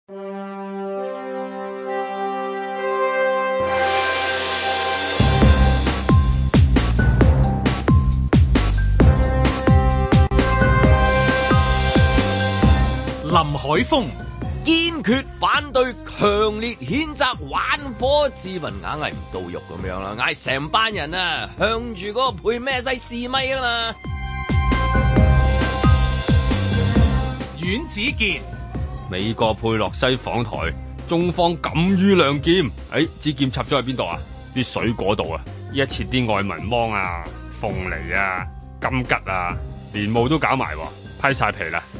林海峰堅決反對，強烈譴責玩火，自問硬係唔到肉咁樣啦，嗌成班人啊向住嗰個佩咩西試咪啊嘛。 阮子健， 美國佩洛西訪台，中方敢於亮劍，支劍插咗喺邊度啊？啲水果度啊，一切啲愛文芒啊、鳳梨啊、金桔啊，蓮霧都搞埋，批晒皮啦。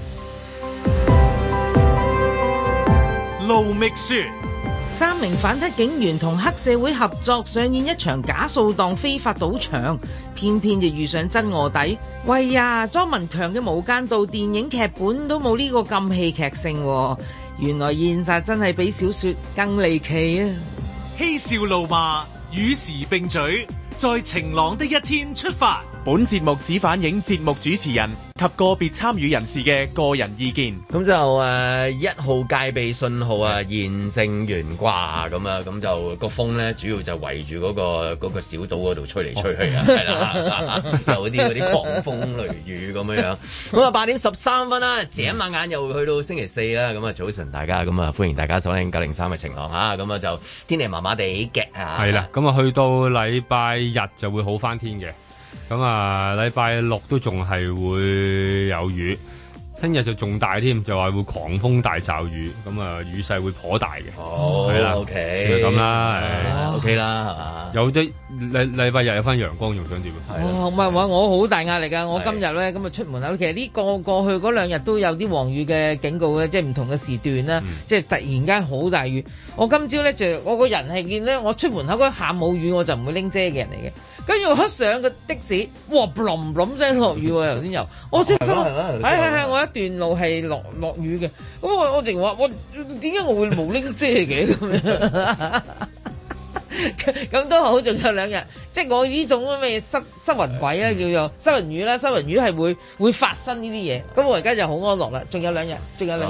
盧覓雪 ，3名反黑警員同黑社會合作上演一場假掃蕩非法賭場，偏偏就遇上真臥底。喂呀，莊文強嘅《無間道》電影劇本都冇呢個咁戲劇性喎，原來現實真係比小說更離奇啊！ 嬉笑怒罵與時並舉，在晴朗的一天出發。 本節目只反映節目主持人及個別參與人士嘅個人意見。 咁就1號戒備信號啊，現正懸掛咁啊，咁就個風咧主要就圍住嗰個小島嗰度吹嚟吹去啊，係啦，有啲狂風雷雨咁樣。咁啊8點13分啦，眨下眼又去到星期四啦。咁啊早晨大家，咁啊歡迎大家收聽903嘅晴朗啊。咁啊就天氣麻麻地嘅啊。 係啦，咁啊去到禮拜日就會好返天嘅。咁啊，禮拜六都仲係會有雨，聽日就仲大添，就話會狂風大驟雨，咁啊雨勢會頗大嘅。 哦，係啦 ，OK， 就咁啦 ，OK 啦，係嘛？ 有啲禮拜日有翻陽光，仲想點啊？ 唔係話我好大壓力㗎，我今日咧咁啊出門口，其實呢過去嗰2日都有啲黃雨嘅警告嘅，即係唔同嘅時段啦，即係突然間好大雨。我今朝咧我個人係見咧，我出門口嗰下冇雨我就唔會拎遮嘅人嚟嘅。跟住我一上個的士，哇冧冧聲落雨喎，頭先又，我先心係我一段路係落雨嘅，咁我淨話我點解我會冇拎遮嘅咁樣？咁都好，仲有2日，即係我呢種咩濕雲鬼啦，叫做濕雲雨啦，濕雲雨係會發生呢啲嘢，咁我而家就好安樂啦，仲有2日。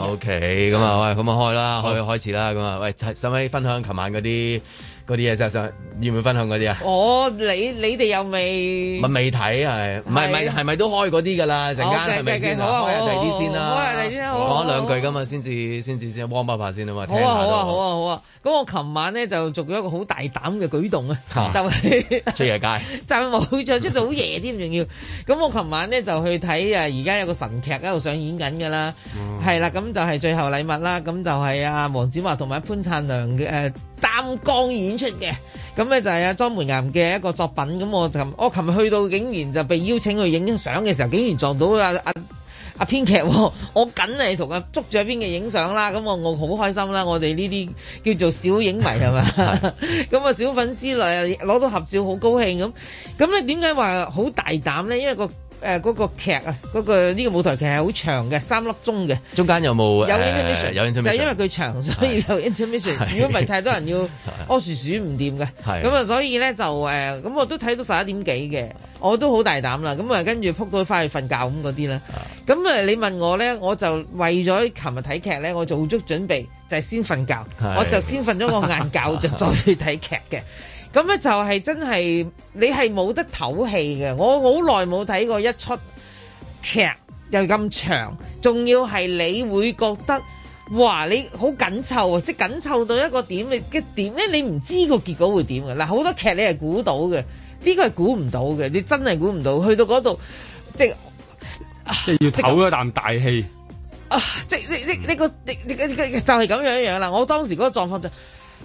OK，咁啊喂，咁啊開啦，開始啦，咁啊喂，使唔使分享琴晚嗰啲嘢就要唔要分享嗰啲啊？ 你哋又未睇係，唔係咪都開嗰啲㗎啦？陣間係咪先啊？開下第啲先啦，講2句㗎嘛，先至warm up下先啊嘛。好啊！咁我琴晚咧就做咗一個好大膽嘅舉動啊，就係出夜街， 就冇再出到好夜添，仲要。咁我琴晚咧就去睇而家有個神劇喺度上演緊㗎啦，係啦，咁就係最後禮物啦，咁就係黃子華同埋潘燦良嘅擔綱演出嘅，咁咧就係莊梅岩嘅一個作品。咁我琴日去到竟然就被邀請去影相嘅時候，竟然撞到阿編劇，我緊係同佢捉住阿編劇影相啦。咁我好開心啦，我哋呢啲叫做小影迷係嘛，咁啊小粉絲嚟攞到合照好高興咁咧。點解話好大膽咧？因為嗰個劇啊，呢個舞台劇係好長嘅，3粒鐘嘅。中間有冇有 intermission？ 有 intermission，就係因為佢長，所以有 intermission。如果唔係太多人要屙薯鼠唔掂嘅，咁啊，所以咧就咁我都睇到11點幾嘅，我都好大膽啦。咁啊，跟住撲到翻去瞓覺咁嗰啲啦。咁啊，你問我咧，我就為咗琴日睇劇咧，我做足準備，就係先瞓覺，我就先瞓咗個晏覺，就再去睇劇嘅。咁咧就係真係你係冇得唞氣嘅，我好耐冇睇過一出劇又咁長，仲要係你會覺得哇你好緊湊啊，即係緊湊到一個點，你嘅點咧你唔知個結果會點嘅。嗱，好多劇你係估到嘅，呢個係估唔到嘅，你真係估唔到，去到嗰度即係要唞一啖大氣啊！即係你就係咁樣啦。我當時嗰個狀況就。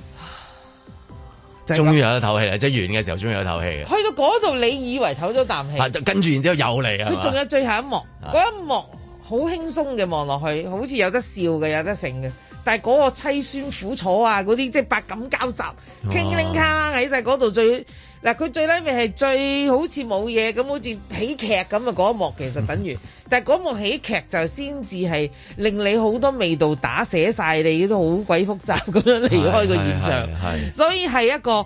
終於有得唞氣啦！即係完嘅時候，終於有得唞氣嘅。 去到嗰度，你以為唞咗啖氣， 跟住然之後又嚟啊！ 佢仲有最後一幕，嗰一幕好輕鬆嘅望落去，好似有得笑嘅，有得剩嘅。但係嗰個凄酸苦楚啊，嗰啲即係百感交集，傾傾卡喺晒嗰度最嗱，佢最尾係最好似冇嘢咁，好似喜劇咁啊！嗰一幕其實等於，但係嗰幕喜劇就先至係令你好多味道打寫晒，你都好鬼複雜咁樣離開個現場，所以係一個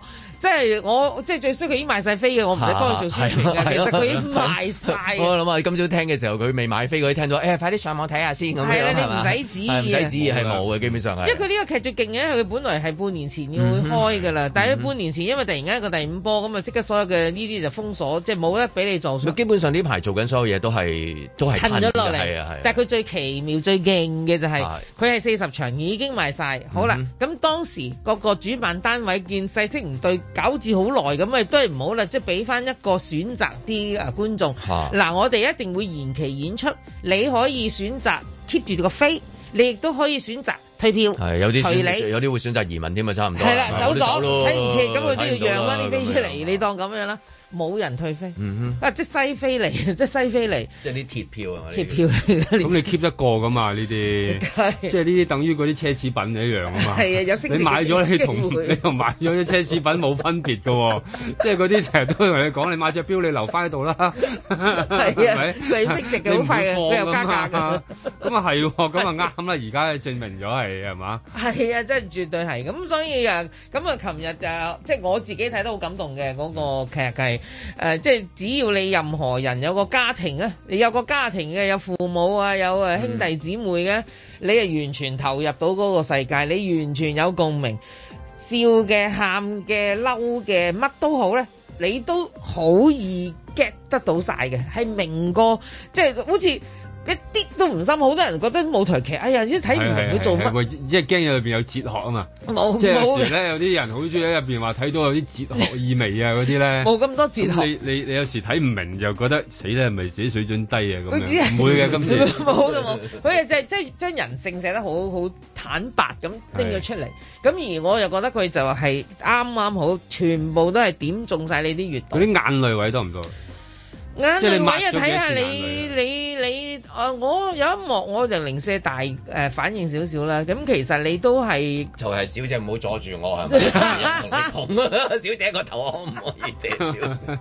即係我即係最衰佢已經賣晒飛嘅，我唔使幫佢做宣傳嘅。其實佢已經賣晒。 我諗啊，今朝聽嘅時候佢未買飛，佢聽到快啲上網睇下先咁樣。 係啦，你唔使旨意唔使旨意係冇嘅，基本上係。 因為佢呢個劇最勁嘅，因為佢本來係半年前要開㗎啦，但係半年前因為突然間一個第5波咁啊，即刻所有嘅呢啲就封鎖，即係冇得俾你做。 基本上呢排做緊所有嘢都係褪咗落嚟， 係啊。 但係佢最奇妙、最勁嘅就係佢係40場已經賣晒。好啦，咁當時個主辦單位見勢色唔對，搞至好耐咁啊，都係唔好啦，即係俾翻一個選擇啲觀眾。嗱，我哋一定會延期演出，你可以選擇 keep 住個飛，你亦都可以選擇退票。 係有啲會選擇移民添啊，差唔多。 係啦，走咗睇唔切，咁佢都要讓翻啲飛出嚟，你當咁樣啦。冇人退飛，即係西飛嚟，即係西飛嚟， 即係啲鐵票啊！ 鐵票嚟㗎， 咁你 keep 得過噶嘛？呢啲即係呢啲等於嗰啲奢侈品一樣啊嘛。係啊，有升值嘅機會。你買咗你同買咗啲奢侈品冇分別㗎喎，即係嗰啲成日都同你講，你買隻錶你留翻喺度啦。係啊，佢升值嘅好快嘅，佢又加價㗎。咁啊係喎，咁啊啱啦！而家證明咗係嘛？係啊，真係絕對係。咁所以啊，咁啊，琴日即係我自己睇得好感動嘅嗰個劇係。即係只要你任何人有個家庭啊，你有個家庭嘅，有父母啊，有兄弟姊妹嘅，你係完全投入到嗰個世界，你完全有共鳴，笑嘅、喊嘅、嬲嘅，乜都好咧，你都好易 get 得到晒嘅，係明過，即係好似。一啲都唔深，好多人覺得舞台劇，哎呀，即係睇唔明佢做乜， 即係驚有裏邊有哲學啊嘛。 冇， 即係有時咧，有啲人好中意喺入邊話睇到有啲哲學意味啊嗰啲咧。冇咁多哲學。你有時睇唔明就覺得死咧，係咪自己水準低啊咁樣？唔會嘅，今次冇嘅冇。佢係即係將人性寫得好坦白咁拎咗出嚟。咁而我又覺得佢就係啱啱好，全部都係點中晒你啲閱讀。嗰啲眼淚位多唔多？眼淚位啊，睇下你我有一幕我就零舍大反應少少啦。咁其實你都係就係小姐唔好阻住我係咪？同你講小姐個頭可唔可以借少少？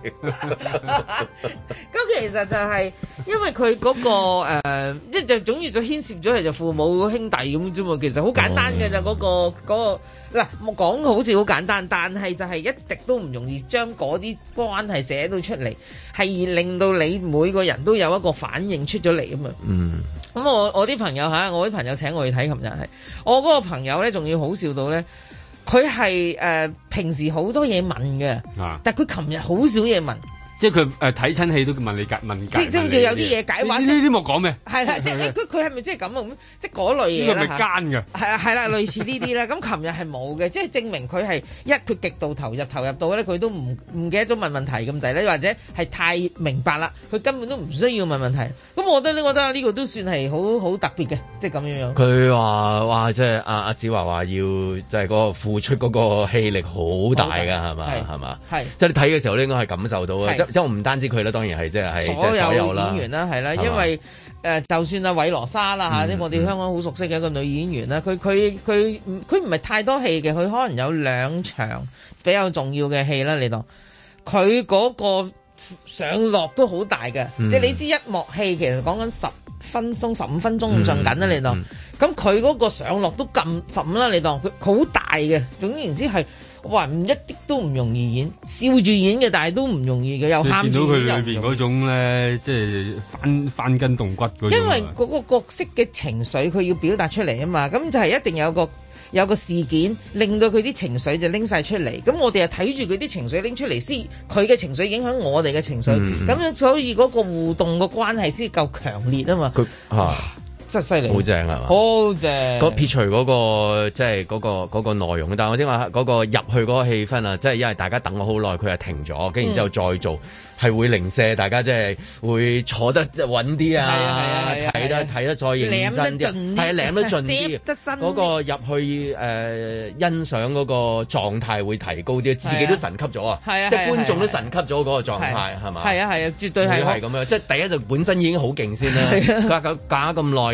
咁其實就係因為佢嗰個即就總之就牽涉咗係就父母兄弟咁啫嘛。其實好簡單嘅就嗰個嗱，我講好似好簡單，但係就係一直都唔容易將嗰啲關係寫到出嚟，係令到你每個人都有一個反應出咗嚟啊嘛。咁我啲朋友我啲朋友請我去睇，琴日係我嗰個朋友咧，仲要好笑到咧，佢係平時好多嘢問嘅，但係佢琴日好少嘢問。 即係佢睇親戲都問你問解， 即係有啲嘢解話。 呢啲冇講咩？係啦，即係佢係咪即係咁啊？咁即係嗰類嘢啦。呢個咪奸㗎？係啦，類似呢啲啦。咁琴日係冇嘅，即係證明佢係佢極度投入到咧，佢都唔記得咗問問題咁滯咧，或者係太明白啦，佢根本都唔需要問問題。咁我覺得呢個都算係好特別嘅，即係咁樣樣。佢話即係阿子華話要即係嗰個付出嗰個氣力好大㗎，係嘛？係嘛？係即係你睇嘅時候咧，應該係感受到嘅。即係我唔單止佢啦，當然係即係所有演員啦，係啦，因為就算阿韋羅莎啦嚇，我哋香港好熟悉嘅一個女演員啦，佢唔係太多戲嘅，佢可能有2場比較重要嘅戲啦，你當佢嗰個上落都好大嘅，即係你知一幕戲其實講緊10分鐘、15分鐘咁上緊啦，你當咁佢嗰個上落都咁15啦，你當佢好大嘅，總言之係。哇！一啲都唔容易演，笑住演嘅，但係都唔容易嘅，又喊住演又唔容易。你見到佢裏邊嗰種咧，即係翻筋動骨嗰種。因為嗰個角色嘅情緒，佢要表達出嚟啊嘛，咁就係一定有個事件令到佢啲情緒就拎晒出嚟。咁我哋係睇住佢啲情緒拎出嚟先，佢嘅情緒影響我哋嘅情緒，咁樣所以嗰個互動嘅關係先夠強烈啊嘛。真係犀利，好正係嘛？好正。撇除嗰個即係嗰個內容，但係我先話嗰個入去嗰個氣氛啊，即係因為大家等咗好耐，佢係停咗，跟住之後再做。係會零舍，大家即係會坐得穩啲啊！睇得再認真啲，係舐得盡啲，嗰個入去欣賞嗰個狀態會提高啲，自己都神級咗啊！即係觀眾都神級咗嗰個狀態係嘛？係啊，絕對係咁樣。即係第一就本身已經好勁先啦，隔咁耐，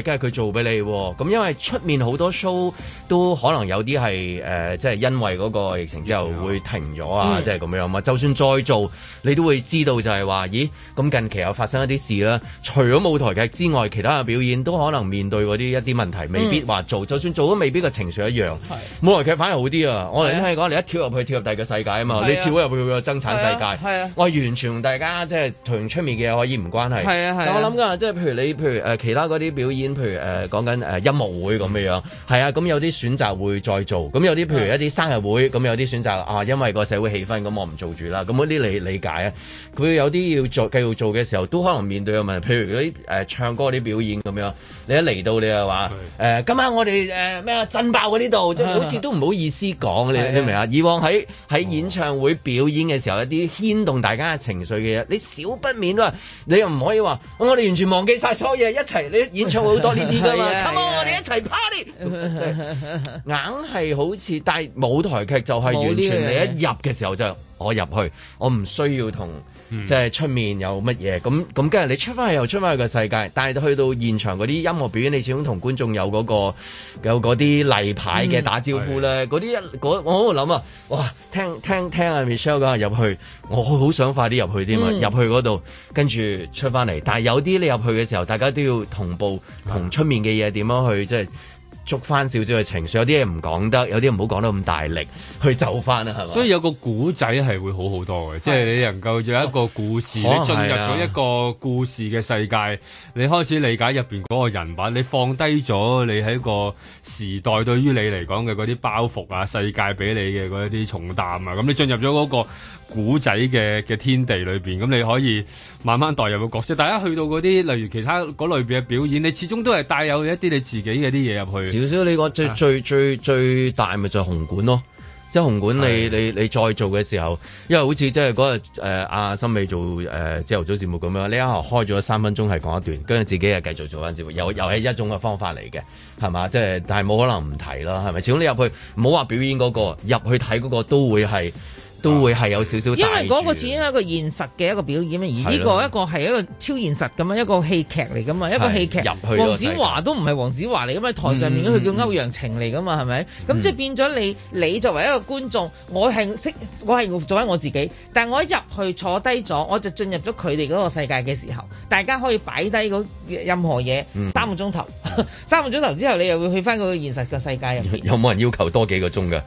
梗係佢做俾你喎。咁因為出面好多 show 都可能有啲係即係因為嗰個疫情之後會停咗啊，即係咁樣嘛。就算再做，你都會知道就係話，咦？咁近期又發生一啲事啦。除咗舞台劇之外，其他嘅表演都可能面對嗰啲一啲問題，未必話做。就算做都未必個情緒一樣。舞台劇反而好啲啊！我哋聽你講，你一跳入去跳入第二個世界啊嘛，你跳入去個爭產世界，我完全同大家即係同出面嘅嘢可以唔關係。但我諗㗎，即係譬如其他嗰啲表演，譬如講緊音樂會咁樣樣，係啊，咁有啲選擇會再做，咁有啲譬如一啲生日會，咁有啲選擇啊，因為個社會氣氛，咁我唔做住啦。咁嗰啲你理解啊？佢有啲要做繼續做嘅時候，都可能面對嘅問題，譬如嗰啲唱歌啲表演咁樣，你一嚟到你又話今晚我哋咩震爆嗰啲度，即係好似都唔好意思講，你明唔明啊？以往喺演唱會表演嘅時候，一啲牽動大家嘅情緒嘅嘢，你少不免都話，你又唔可以話我哋完全忘記晒所有嘢一齊，你演唱會好多呢啲㗎嘛，Come on，我哋一齊 party，即係硬係好似，但係舞台劇就係完全你一入嘅時候就我入去，我唔需要同。即係出面有乜嘢咁，跟住你出翻去又出翻去個世界，但係去到現場嗰啲音樂表演，你始終同觀眾有嗰啲例牌嘅打招呼咧，嗰啲我喺度諗啊，哇！聽阿 Michelle 講入去，我好想快啲入去添啊，入去嗰度跟住出翻嚟，但係有啲你入去嘅時候，大家都要同步同出面嘅嘢點樣去即係。捉翻少少嘅情緒，有啲嘢唔講得，有啲唔好講得咁大力，去走翻啦，係嘛？ 所以有個古仔係會好好多嘅，即係你能夠有一個故事，你進入咗一個故事嘅世界，你開始理解入邊嗰個人物，你放低咗你喺個時代對於你嚟講嘅嗰啲包袱啊，世界俾你嘅嗰一啲重擔啊，咁你進入咗嗰個古仔嘅天地裏邊，咁你可以慢慢代入個角色。大家去到嗰啲例如其他嗰類別嘅表演，你始終都係帶有一啲你自己嘅啲嘢入去。 少少你講最大咪就係紅館咯，即係紅館你再做嘅時候，因為好似即係嗰日阿森美做朝頭早節目咁樣，呢一下開咗3分鐘係講一段，跟住自己又繼續做翻節目，又係一種嘅方法嚟嘅，係嘛？即係但係冇可能唔提啦，係咪？始終你入去唔好話表演嗰個，入去睇嗰個都會係有少少，因為嗰個始終係一個現實嘅一個表演，而呢個一個係一個超現實咁樣一個戲劇嚟噶嘛，一個戲劇。黃子華都唔係黃子華嚟噶嘛，台上面佢叫歐陽晴嚟噶嘛，係咪？咁即係變咗你作為一個觀眾，我係做緊我自己，但係我一入去坐低咗，我就進入咗佢哋嗰個世界嘅時候，大家可以擺低任何嘢3個鐘頭，3個鐘頭之後你又會去翻嗰個現實嘅世界入邊。有冇人要求多幾個鐘㗎？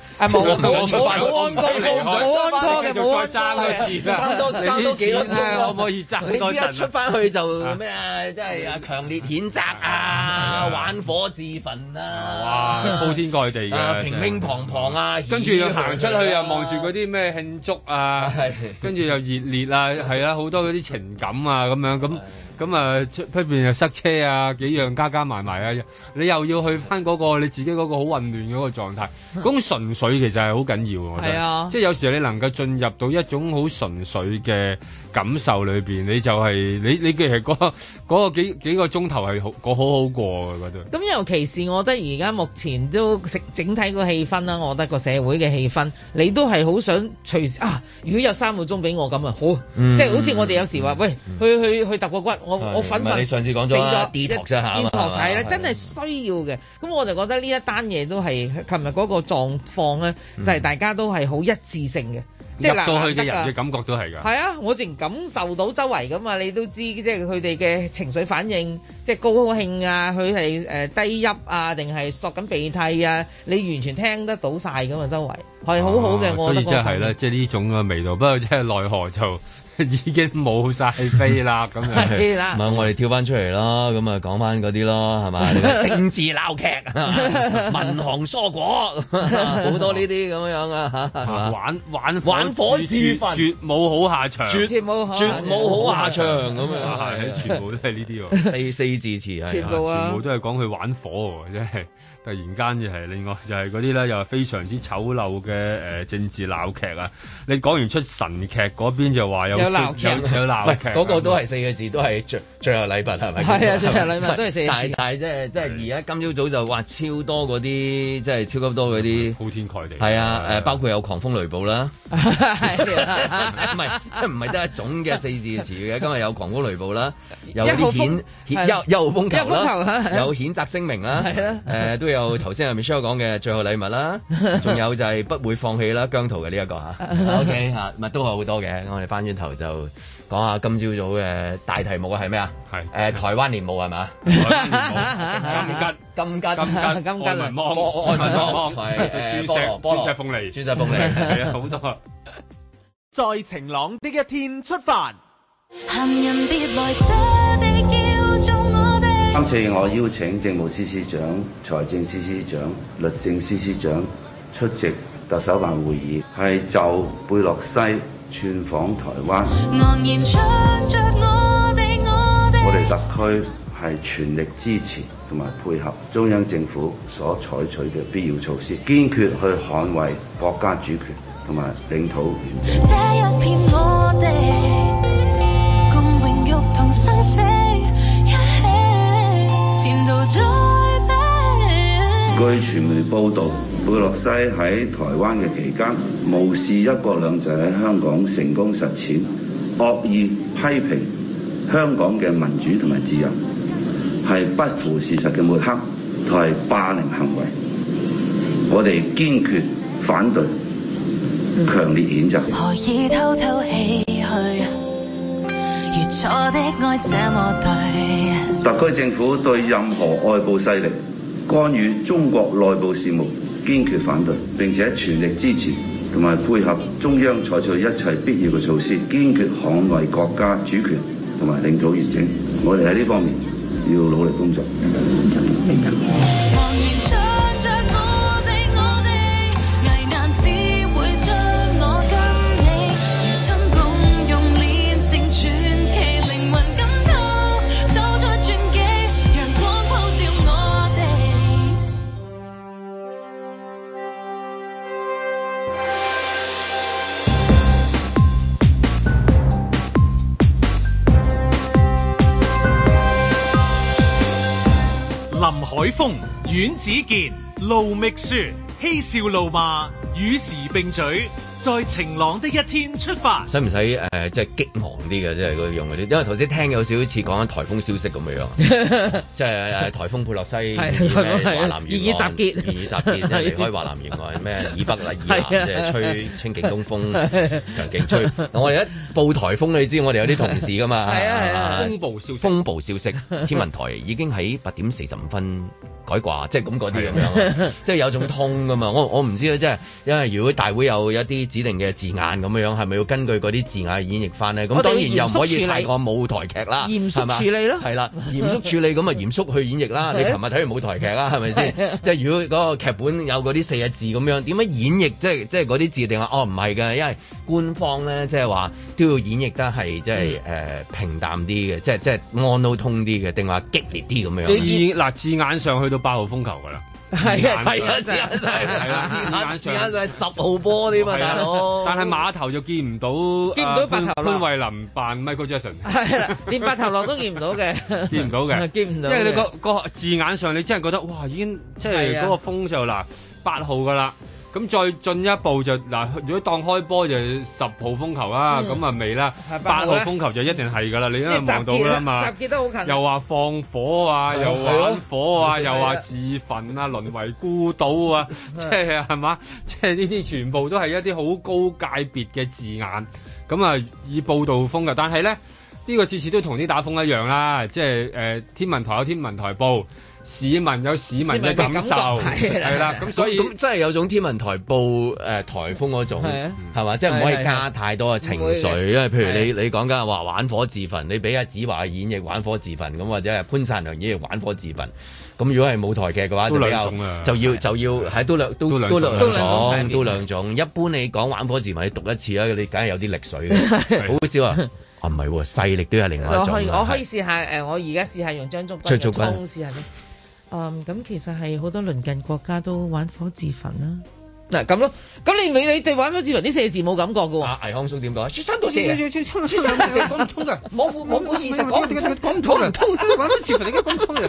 冇安拖嘅，冇爭嘅，爭多幾粒鐘可唔可以爭？你知一出翻去就咩啊？即係啊，強烈譴責啊，玩火自焚啊！ 哇，鋪天蓋地嘅， 乒乒乓乓啊！ 跟住又行出去又望住嗰啲咩慶祝啊，跟住又熱烈啊，係啊，好多嗰啲情感啊咁樣咁啊，出邊又塞車啊，幾樣加埋啊，你又要去翻嗰個你自己嗰個好混亂嗰個狀態，嗰種純粹其實係好緊要，我覺得，即係有時你能夠進入到一種好純粹嘅感受裏邊，你就係你其實嗰個幾個鐘頭係好好過嘅嗰度。咁尤其是我覺得而家目前都整體個氣氛啦，我覺得個社會嘅氣氛，你都係好想隨時啊！如果有3個鐘俾我咁啊，好，即係好似我哋有時話喂，去揼個骨。我瞓你上次講咗detox係啦，真係需要嘅。咁我就覺得呢一單嘢都係琴日嗰個狀況咧，就係大家都係好一致性嘅，即係入到去嘅人嘅感覺都係㗎。係啊，我淨感受到周圍㗎嘛，你都知即係佢哋嘅情緒反應，即係高興啊，佢係低泣啊，定係索緊鼻涕啊，你完全聽得到晒㗎嘛，周圍係好好嘅。我覺得所以即係啦，即係呢種嘅味道。不過即係奈何就。已經冇晒飛啦，咁樣係啦。唔係我哋跳翻出嚟啦，咁啊講翻嗰啲咯，係嘛？政治鬧劇、民航蔬果，好多呢啲咁樣啊嚇，係嘛？玩火自焚，絕冇好下場，絕冇好下場咁樣，係全部都係呢啲喎，四字詞係，全部都係講佢玩火喎，真係。突然間就係另外就係嗰啲咧，又係非常之醜陋嘅政治鬧劇啊！你講完出神劇嗰邊就話有鬧劇，有鬧劇，嗰個都係4個字，都係最後禮物係咪？係啊，最後禮物都係4個字。但係即係而家今朝早就話超多嗰啲，即係超級多嗰啲鋪天蓋地。係啊，包括有狂風雷暴啦，係唔係即係唔係得一種嘅4字詞嘅？今日有狂風雷暴啦， 有啲1號風球啦，有譴責聲明啦， 係啦， 都有頭先阿 Michelle 講嘅最後禮物啦，仲有就係不會放棄啦，姜濤嘅呢一個嚇，OK 嚇，咪都係好多嘅。我哋翻轉頭就講下今朝早嘅大題目係咩啊？係台灣年舞係嘛？金桔愛民芒，鑽石鳳梨，係啊，好多。 在晴朗的一天出發。 今次我邀請政務司司長、財政司司長、律政司司長出席特首辦會議，係就貝洛西串訪台灣。我哋特區係全力支持同埋配合中央政府所採取嘅必要措施，堅決去捍衛國家主權同埋領土完整。這一片我哋共榮辱同生死一起，前途再比。據傳媒報導，貝洛西喺台灣嘅期間，無視一國兩制喺香港成功實踐，惡意批評香港嘅民主同埋自由，係不符事實嘅抹黑同係霸凌行為，我哋堅決反對，強烈譴責。何以偷偷唏噓，如錯的愛這麼對。特區政府對任何外部勢力干預中國內部事務堅決反對，並且全力支持同埋配合中央採取一切必要嘅措施，堅決捍衛國家主權同埋領土完整。我哋喺呢方面要努力工作。 林海峰、阮子健、盧覓雪，嬉笑怒罵，與時並舉，在晴朗的一天出發。 使唔使即係激昂啲嘅，即係嗰用嗰啲？因為頭先聽有少少似講緊颱風消息咁樣，即係颱風佩洛西華南沿岸集結，即係離開華南沿岸咩以北啦，以南即係吹清勁東風，強勁吹。我哋一報颱風，你知我哋有啲同事噶嘛？係啊，風暴消息，天文台已經喺8點45分改掛，即係咁嗰啲咁樣，即係有種通噶嘛。我唔知啊，即係因為如果大會有一啲指定嘅字眼咁樣，係咪要根據嗰啲字眼演繹翻呢？咁當然又唔可以太過舞台劇啦，嚴肅處理咯，係啦，嚴肅處理咁啊，嚴肅去演繹啦。你琴日睇完舞台劇啦，係咪先？即係如果嗰個劇本有嗰啲4個字咁樣，點樣演繹？即係嗰啲字定話哦唔係嘅，因為官方咧即係話都要演繹得係即係平淡啲嘅，即係安都通啲嘅，定話激烈啲咁樣。 嗱字眼上去到8號風球㗎啦。 係啊，字眼上係10號波添嘛，大佬。但係碼頭就見唔到白頭狼潘慧琳扮 Michael Jackson。 係啦，連白頭狼都見唔到嘅， 見唔到嘅， 見唔到。 即係你個字眼上，你真係覺得哇，已經即係嗰個風就嗱8號㗎啦。咁再進一步就嗱，如果當開波就10號風球啦，咁啊未啦，8號風球就一定係㗎啦，你因為望到啦嘛， 集結得好近， 又話放火啊，又玩火啊，又話自焚啊，淪為孤島啊，即係係嘛，即係呢啲全部都係一啲好高界別嘅字眼，咁啊以報導風嘅，但係咧呢個次次都同啲打風一樣啦，即係天文台有天文台報。市民有市民嘅感受，係啦，咁所以咁真係有種天文台報颱風嗰種，係嘛？即係唔可以加太多嘅情緒，因為譬如你講緊話玩火自焚，你俾阿子華演繹玩火自焚咁，或者係潘燦良演繹玩火自焚，咁如果係舞台劇嘅話，就比較就要係都兩種。一般你講玩火自焚，你讀一次啦，你梗係有啲力水嘅，好少啊！啊唔係喎，勢力都係另外一種。 我可以試下我而家試下用張竹君嘅通試下咧。咁其實係好多鄰近國家都玩火自焚啦。嗱咁咯，咁你哋玩火自焚呢4個字冇感覺嘅喎。倪匡叔點講？說三道四，講唔通㗎，冇事實講唔通，玩火自焚你而家講唔通嘅。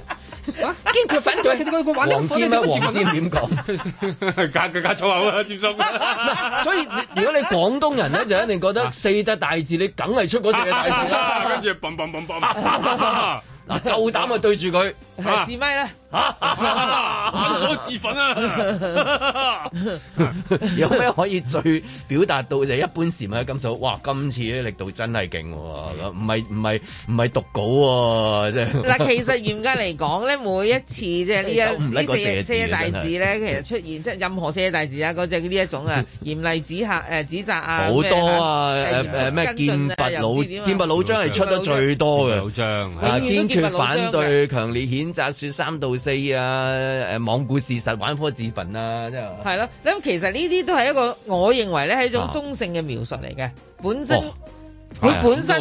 堅決反對。黃霑咩？黃霑點講？ 加粗口啦，霑叔。 所以如果你廣東人咧，就一定覺得四大大字，你梗係出嗰四大字啦。 跟住砰砰砰砰。 嗱，夠膽啊對住佢試咪啦！ 我自焚啊！ 有咩可以最表達到就係一般市民嘅感受？哇！今次啲力度真係勁喎，唔係讀稿喎，即係嗱。其實嚴格嚟講咧，每一次即係呢四大字咧，其實出現即係任何四大字啊，嗰隻呢一種啊，嚴厲指責啊， 好多啊！咩劍拔弩張係出得最多嘅，堅決反對，強烈譴責，說3道4啊！罔顧事實，玩火自焚啊！真係係咯，咁其實呢啲都係一個，我認為咧係一種中性嘅描述嚟嘅，本身佢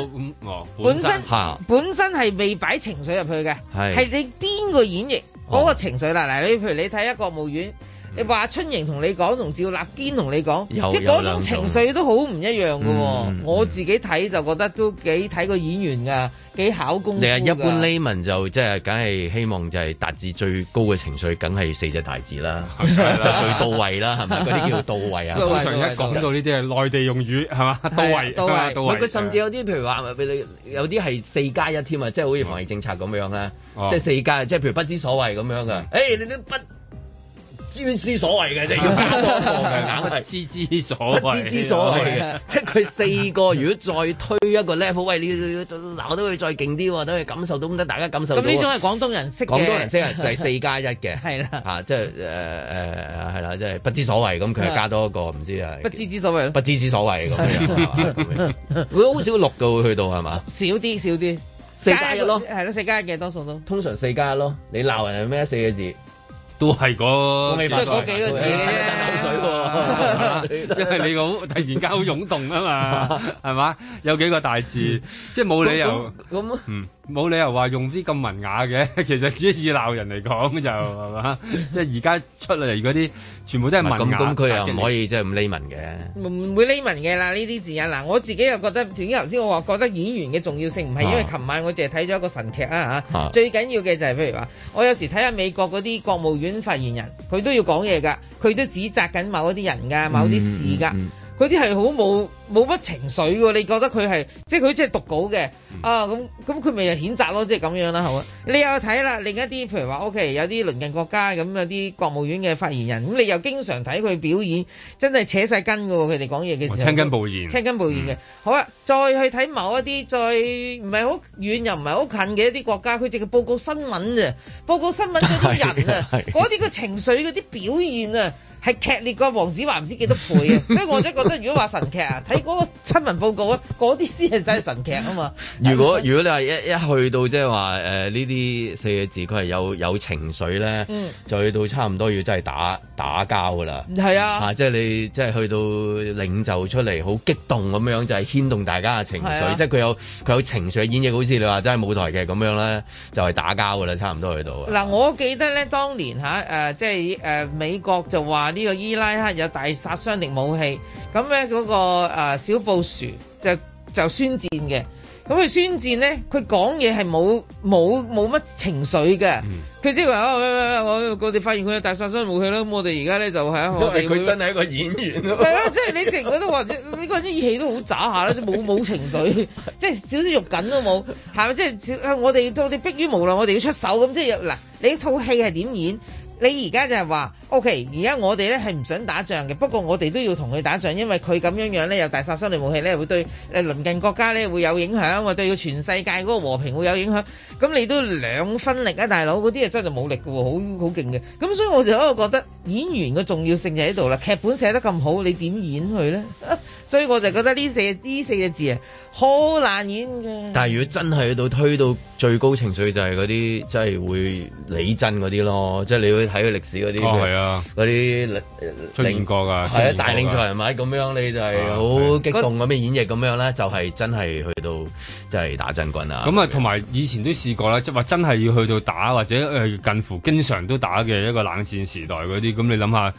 本身係未擺情緒入去嘅，係你邊個演繹嗰個情緒啦？嗱，你譬如你睇下國務院。你話春瑩同你講，同趙立堅同你講，即係嗰種情緒都好唔一樣嘅喎。我自己睇就覺得都幾睇個演員㗎，幾考功夫㗎。 你係一般 layman 就即係梗係希望就係達至最高嘅情緒，梗係4隻大字啦，就最到位啦，係咪？嗰啲叫到位啊。 通常一講到呢啲係內地用語係嘛？到位，到位。 佢甚至有啲譬如話有啲係4+1添啊，即係好似防疫政策咁樣咧，即係4+，即係譬如不知所謂咁樣嘅。誒，你都不知所謂嘅，就要加多個嘅，硬係知所謂嘅，即係佢4個。如果再推一個 level，喂，你鬧到佢再勁啲喎，等佢感受到，咁得大家感受到。咁呢種係廣東人識嘅，廣東人識啊，就係4+1嘅，係啦，嚇，即係係啦，即係不知所謂咁，佢係加多一個，唔知啊，不知所謂，不知所謂咁樣，會好少錄到會去到係嘛？少啲4+1咯，係咯，4+1嘅多數都通常4+1咯。你鬧人係咩4個字？ 都係嗰幾個字嘅口水喎， 因為你好突然間好湧動啊嘛，係嘛？有幾個大字，即係冇理由咁，冇理由話用啲咁文雅嘅。其實只以鬧人嚟講就係嘛，即係而家出嚟嗰啲全部都係文雅。咁佢又唔可以即係咁匿文嘅， 唔會匿文嘅啦。呢啲字啊，嗱，我自己又覺得，頭先我話覺得演員嘅重要性唔係因為琴晚我淨係睇咗一個神劇啊嚇，最緊要嘅就係譬如話，我有時睇下美國嗰啲國務院發言人，佢都要講嘢㗎，佢都指責緊某一啲人㗎，某啲事㗎，嗰啲係好冇乜情緒喎。你覺得佢係即係佢即係讀稿嘅啊？咁佢咪就譴責咯，即係咁樣啦，係嘛？你又睇啦，另一啲譬如話 OK， 有啲鄰近國家咁有啲國務院嘅發言人，咁你又經常睇佢表演，真係扯晒筋㗎喎，佢哋講嘢嘅時候，青筋暴現嘅。好啦，再去睇某一啲再唔係好遠又唔係好近嘅一啲國家，佢淨係報告新聞啫，報告新聞嗰啲人啊，嗰啲個情緒嗰啲表現啊，係劇烈過黃子華唔知幾多倍啊！所以我真係覺得，如果話神劇啊，睇嗰個新聞報告啊，嗰啲先係真係神劇啊嘛！ 如果你話一去到即係話呢啲4個字，佢係有情緒咧，就去到差唔多要真係打交噶啦。係啊，即係你即係去到領袖出嚟好激動咁樣，就係牽動大家嘅情緒，即係佢有情緒演繹，好似你話真係舞台劇咁樣咧，就係打交噶啦，差唔多去到。嗱，我記得咧，當年即係美國就話呢個伊拉克有大殺傷力武器，咁咧嗰個小布殊就宣戰嘅。咁佢宣戰咧，佢講嘢係冇乜情緒嘅。佢即係話我哋發現佢有大殺傷武器啦。咁我哋而家咧就係我哋佢真係一個演員咯。係啊，即係你成日都話呢個啲語氣都好渣下啦，即係冇情緒，即係少少肉緊都冇，係咪？即係我哋迫於無奈，我哋要出手咁。即係嗱，你套戲係點演？你而家就係話 OK， 而家我哋咧係唔想打仗嘅，不過我哋都要同佢打仗，因為佢咁樣咧有大殺傷力武器咧，會對鄰近國家咧會有影響，或對個全世界嗰個和平會有影響。咁你都兩分力啊，大佬，嗰啲係真係冇力嘅喎，好勁嘅。咁所以我就喺度覺得演員嘅重要性就喺度啦。劇本寫得咁好，你點演佢咧？所以我就覺得呢四個字啊，好難演嘅。但係如果真係去到推到最高情緒，就係嗰啲真係會理真嗰啲咯，即係你會睇佢歷史嗰啲。係啊，嗰啲出現過㗎，係啊，大領袖人物咁樣，你就係好激動咁嘅演繹咁樣咧，就係真係去到即係打真軍啊！咁啊，同埋以前都試過啦，即係話真係要去到打或者近乎經常都打嘅一個冷戰時代嗰啲，咁你諗下。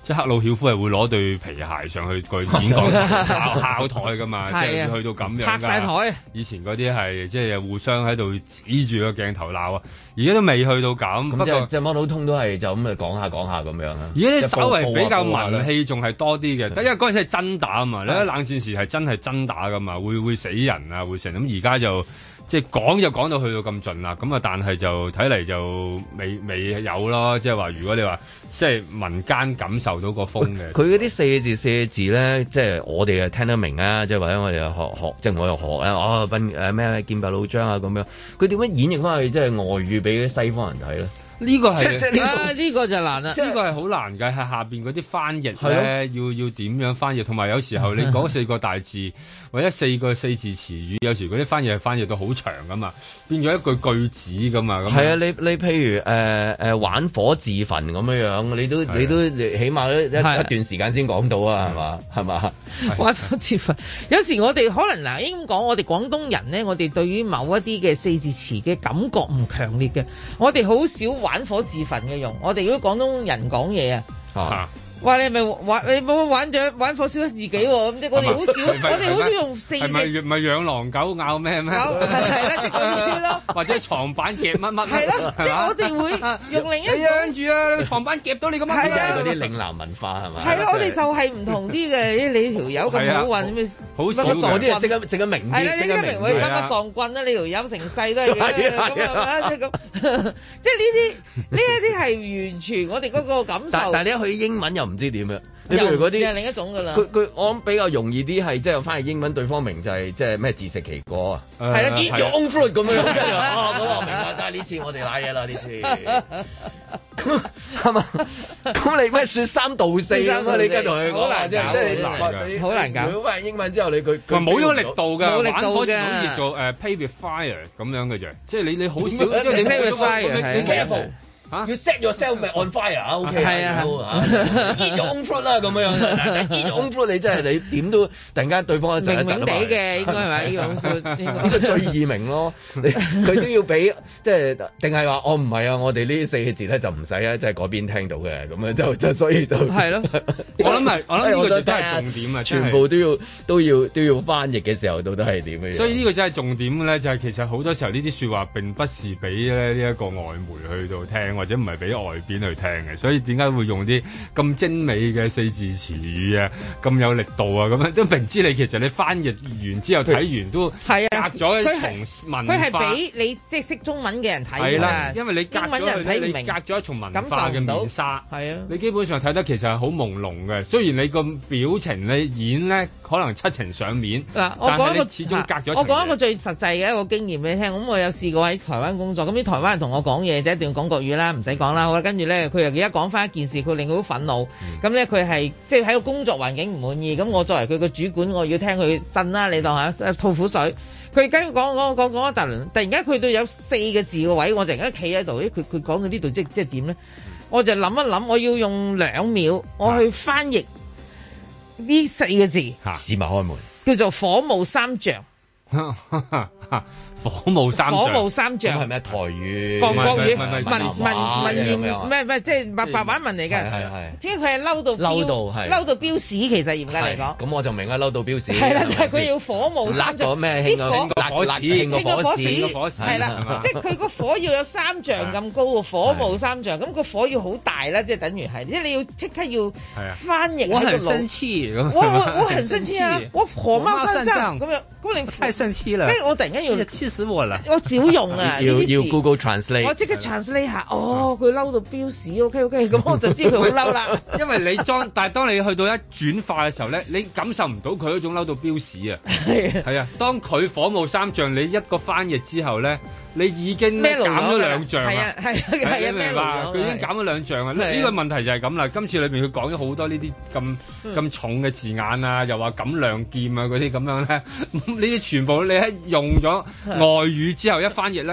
即係赫魯曉夫係會攞對皮鞋上去個演講敲台噶嘛，即係去到咁樣。拍晒台。以前嗰啲係即係互相喺度指住個鏡頭鬧啊，而家都未去到咁。不過即係摩佬通都係就咁講下咁樣啊。 而家稍為比較文氣仲係多啲嘅，因為嗰陣時係真打啊嘛，你睇冷戰時係真係真打噶嘛，會死人啊，會成咁。而家就即係講就講到去到咁盡啦，咁啊但係就睇嚟就未有咯，即係話如果你話即係民間感受到個風嘅， 佢嗰啲四個字咧，即係我哋啊聽得明啊，即係或者我哋學，即係我又學啊，咩劍拔弩張啊咁樣，佢點樣演繹翻去即係外語俾啲西方人睇咧？呢個係呢個就難啦， 呢個係好難嘅，係下邊嗰啲翻譯咧，要點樣翻譯？同埋有時候你講4個大字或者4個4字詞語，有時嗰啲翻譯係翻譯到好長噶嘛，變咗一句子噶嘛。 係啊，你譬如玩火自焚咁樣，你都起碼一段時間先講到啊，係嘛？ 玩火自焚，有時我哋可能應該講我哋廣東人咧，我哋對於某一啲嘅4字詞嘅感覺唔強烈嘅，我哋好少玩火自焚嘅用，我哋如果廣東人講嘢話你咪你冇玩火燒自己喎，咁即係我哋好少，我哋好少用4字。係咪養狼狗咬咩？係啦，即係嗰啲咯。或者床板夾乜乜？係啦，即係我哋會用另一種。你養住啊！床板夾到你咁樣。係啊， 嗰啲嶺南文化係咪？ 係咯，我哋就係唔同啲嘅。你條友咁好運咩？ 好少嗰啲啊，即刻明啲。 係啦，即刻明會乜乜撞棍啦！你條友成世都係咁即係咁，即係呢一啲係完全我哋嗰個感受。 但係你一去英文又唔知點樣，你譬如嗰啲另一種噶啦。 佢我諗比較容易啲係即係翻譯英文，對方明就係即係咩自食其果啊。 係啦 ，eat your own fruit咁樣。嗰個我明白，但係呢次我哋瀨嘢啦，呢次係嘛？咁你咩説3道4咁啊？你跟同佢講啦，即係好難搞。 如果翻譯英文之後，佢冇咗力度㗎， 冇力度嘅。 好似做play with fire 咁樣嘅啫，即係你好少，即係你 play with fire 你 careful。要 set yourself on fire 啊 ，OK 係eat your own fruit 啦咁樣，eat your own fruit 你真係你點都突然間對方一陣一陣地嘅應該係咪？ 呢個最易明咯，佢都要俾即係定係話我唔係啊，我哋呢4個字咧就唔使啊，即係嗰邊聽到嘅咁樣就所以就係咯。 我諗呢個都係重點啊， 全部都要翻譯嘅時候到底係點嘅。 所以呢個真係重點咧，就係其實好多時候呢啲説話並不是俾咧呢一個外媒去到聽。或者唔係俾外邊去聽嘅，所以點解會用啲咁精美嘅4字詞語啊，咁有力度啊，咁樣都明知你其實你翻譯完之後睇完都隔咗一重文化。 佢係俾你即係識中文嘅人睇㗎。 係啦，因為你英文人睇唔明，你隔咗一重文化嘅面紗。 係啊， 你基本上睇得其實係好朦朧嘅。雖然你個表情你演咧可能7情上面， 嗱，我講一個始終隔咗。 我講一個最實際嘅一個經驗俾你聽。咁我有試過喺台灣工作，咁啲台灣人同我講嘢就一定要講國語啦。唔使講啦，好啦，跟住咧，佢又而家講翻一件事，佢令佢好憤怒。咁咧，佢係即係喺個工作環境唔滿意。咁我作為佢個主管，我要聽佢呻啦，你當下吐苦水。佢跟住講一大輪，突然間去到有4個字嘅位，我突然間企喺度，佢講到呢度即係點咧？我就諗一諗，我要用2秒，我去翻譯呢4個字。 試埋開門， 叫做火冒三丈。 火冒三丈係咩台語？ 國語文言咩？即係白話文嚟嘅。係。即係佢係嬲到飆屎，其實嚴格嚟講。 咁我就明啦，嬲到飆屎。 係啦，就係佢要火冒三丈。 啲火屎。係啦，即係佢個火要有3丈咁高喎，火冒三丈。咁個火要好大啦，即係等於係，即係你要即刻要翻譯喺個腦。我很生氣，我很生氣啊！我火冒三丈咁樣，咁你太生氣啦！跟住我突然間要氣死我啦！我少用啊！ 要 Google Translate， 我即刻 translate 下。哦，佢嬲到飆屎，OK，咁我就知佢好嬲啦。 因為但係當你去到一轉化嘅時候咧，你感受唔到佢嗰種嬲到飆屎啊！係啊，當佢火冒三丈，你一個翻譯之後咧，你已經減咗2丈啊！ 係啊， 明白？佢已經減咗2丈啊！呢個問題就係咁啦。今次裏邊佢講咗好多呢啲咁重嘅字眼啊，又話咁亮劍啊嗰啲咁樣咧，呢啲全部你喺用咗外語之後一翻譯咧，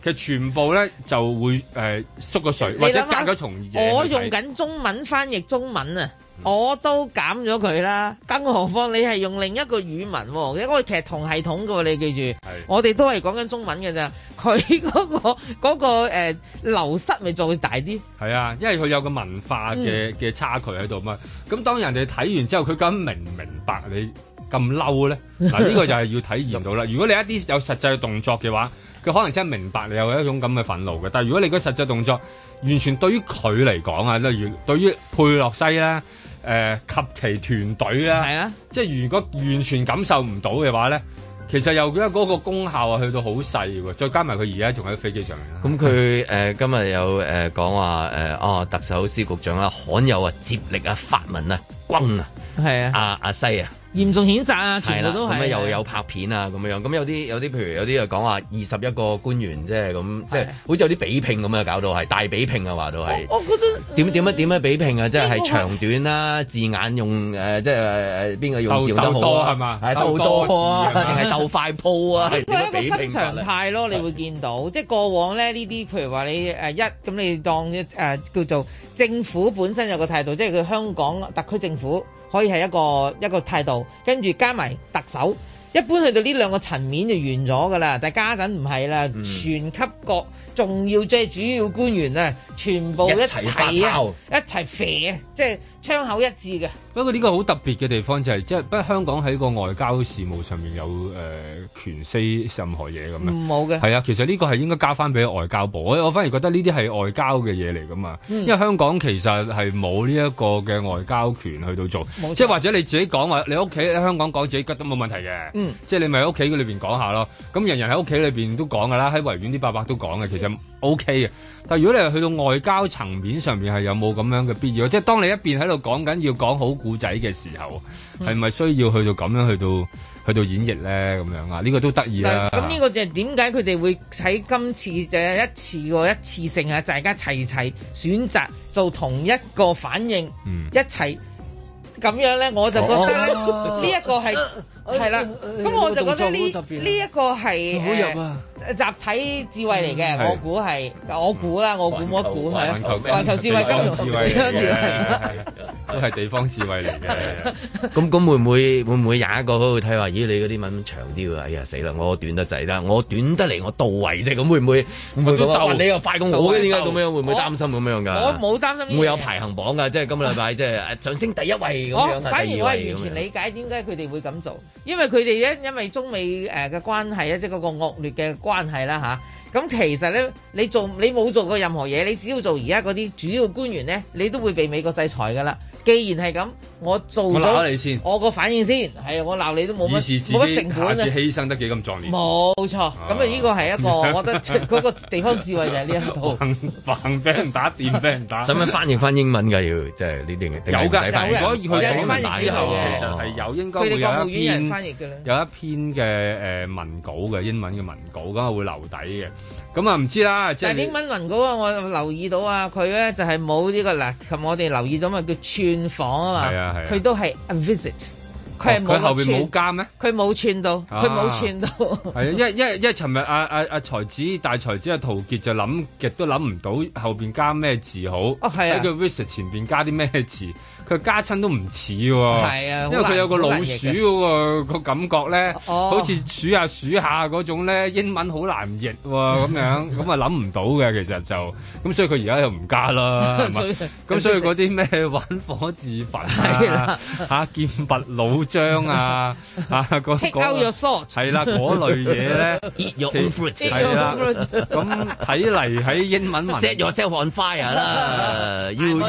其實全部咧就會縮個水，或者加咗重嘢。 我用緊中文翻譯中文啊！我都減咗佢啦，更何況你係用另一個語文喎，因為其實同系統嘅喎，你記住，我哋都係講緊中文嘅咋，佢嗰個流失咪再大啲。係啊，因為佢有個文化嘅差距喺度嘛。咁當人哋睇完之後，佢究竟明唔明白你咁嬲咧？嗱，呢個就係要體驗到啦。如果你一啲有實際嘅動作嘅話，佢可能真係明白你有一種咁嘅憤怒嘅。但係如果你個實際動作完全對於佢嚟講啊，例如對於佩洛西咧。及其團隊啦，係啊，即係如果完全感受唔到嘅話咧，其實又覺得嗰個功效啊去到好細喎，再加埋佢而家仲喺飛機上面啦。咁佢今日有講話特首司局長啊，罕有啊接力啊發文啊轟啊，係啊阿西啊。嚴重譴責啊！全部都係咁又有拍片啊咁樣，咁有啲譬如有啲就講話21個官員即係咁，即係好似有啲比拼咁啊，搞到係大比拼啊，話到係。我覺得點樣比拼啊？即係長短啦，字眼用即係邊個用字用得好啊？係嘛？係鬥多啊，定係鬥快鋪啊？ 呢個係一個新常態咯，你會見到，即係過往咧呢啲，譬如話你咁你當叫做政府本身有個態度，即係佢香港特區政府。可以係一個態度，跟住加埋特首，一般去到呢兩個層面就完咗噶啦。但係家陣唔係啦，全級各重要即係主要官員啊，全部一齊啊，一齊肥啊，即係槍口一致嘅。 不過呢個好特別嘅地方就係，即係不過香港喺個外交事務上面有權 say 任何嘢咁樣。冇嘅。係啊，其實呢個係應該交翻俾外交部。我反而覺得呢啲係外交嘅嘢嚟噶嘛。因為香港其實係冇呢一個嘅外交權去到做。即係或者你自己講話，你屋企喺香港講自己覺得冇問題嘅。即係你咪喺屋企裏邊講下咯。咁人人喺屋企裏邊都講噶啦，喺維園啲伯伯都講嘅，其實 OK 嘅。但係如果你係去到外交層面上面係有冇咁樣嘅必要？即係當你一邊喺度講緊要講好故仔嘅時候，係咪需要去到咁樣去到演繹咧？咁樣啊？呢個都得意啦。 咁呢個就係點解佢哋會喺今次就一次性啊，大家齊選擇做同一個反應，一齊咁樣咧，我就覺得咧呢一個係啦。咁我就覺得呢一個係集體智慧嚟嘅。我估啦，我估冇得估係環球智慧、金融智慧都係地方智慧嚟嘅。 咁會唔會有一個喺度睇話？咦，你嗰啲文長啲喎？哎呀死啦！我短得滯啦，我短得嚟我到位啫。咁會唔會咁你又快過我嘅？點解咁樣？會唔會擔心咁樣㗎？ 我冇擔心。 會有排行榜㗎，即係今個禮拜即係上升第一位咁樣。 反而我係完全理解點解佢哋會咁做，因為佢哋咧因為中美嘅關係咧，即係嗰個惡劣嘅關係啦嚇。咁其實咧，你冇做過任何嘢，你只要做而家嗰啲主要官員咧，你都會被美國制裁㗎啦。既然係咁，我做咗你先，我個反應先係我鬧你都冇乜成本啊！ 下次犧牲得幾咁壯烈？ 冇錯，咁啊呢個係一個，我覺得嗰個地方智慧就係呢一套。 橫俾人打，掂俾人打。 使唔使翻譯翻英文㗎？要即係呢啲有㗎，如果佢講翻譯之後嘅， 其實係有應該會有一篇佢哋國務院人翻譯嘅有一篇嘅文稿嘅英文嘅文稿，咁啊會留底嘅。咁啊唔知啦，即係英文文稿啊，我留意到啊，佢咧就係冇呢個嗱，琴我哋留意到嘛，叫串訪啊嘛，佢都係 a visit，佢係冇後邊冇加咩？ 佢冇串到，佢冇串到。 係啊，因為尋日阿大才子陶傑就諗極都諗唔到後邊加咩字好，喺個 visit 前邊加啲咩字。佢加親都唔似喎，因為佢有個老鼠嗰個感覺咧，好似數下嗰種咧，英文好難譯喎咁樣，咁啊諗唔到嘅其實就，咁所以佢而家又唔加啦，係嘛？咁所以嗰啲咩玩火自焚啊，劍拔弩張啊，嗰 take out your sword 係啦嗰類嘢咧，係啦，咁睇嚟喺英文文 set yourself on fire 啦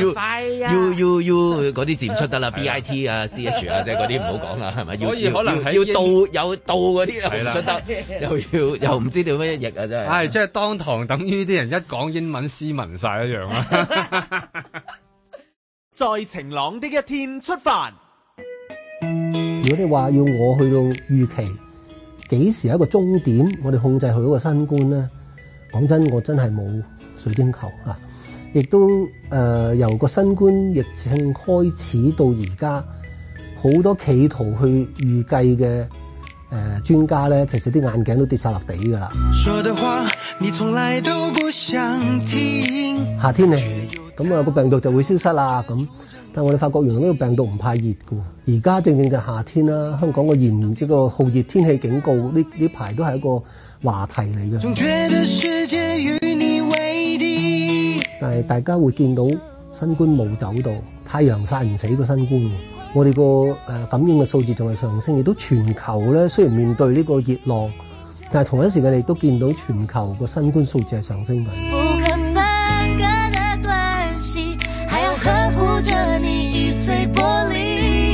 ，you嗰啲字唔出得啦 ，bit 啊 ch 啊，即係嗰啲唔好講啦，係咪？ 所以可能要有到嗰啲又唔出得，又唔知點樣譯啊，真係。 係即係當堂等於啲人一講英文斯文晒一樣啦。 在晴朗的一天出發。 如果你話要我去到預期幾時係一個終點，我哋控制佢嗰個新冠咧，講真，我真係冇水晶球啊！亦都由個新冠疫情開始到而家，好多企圖去預計嘅專家咧，其實啲眼鏡都跌晒落地㗎啦。說的話你從來都不想聽。 夏天嚟，咁啊個病毒就會消失啦。咁，但我哋發覺原來呢個病毒唔怕熱㗎。而家正正就夏天啦，香港個呢個酷熱天氣警告呢排都係一個話題嚟嘅。 總覺得世界與你為敵， 但係大家會見到新冠冇走到，太陽曬唔死個新冠。我哋個感染嘅數字仲係上升，亦都全球咧雖然面對呢個熱浪，但係同一時間你都見到全球個新冠數字係上升緊。 不可分割的關係，還要呵護着你易碎玻璃。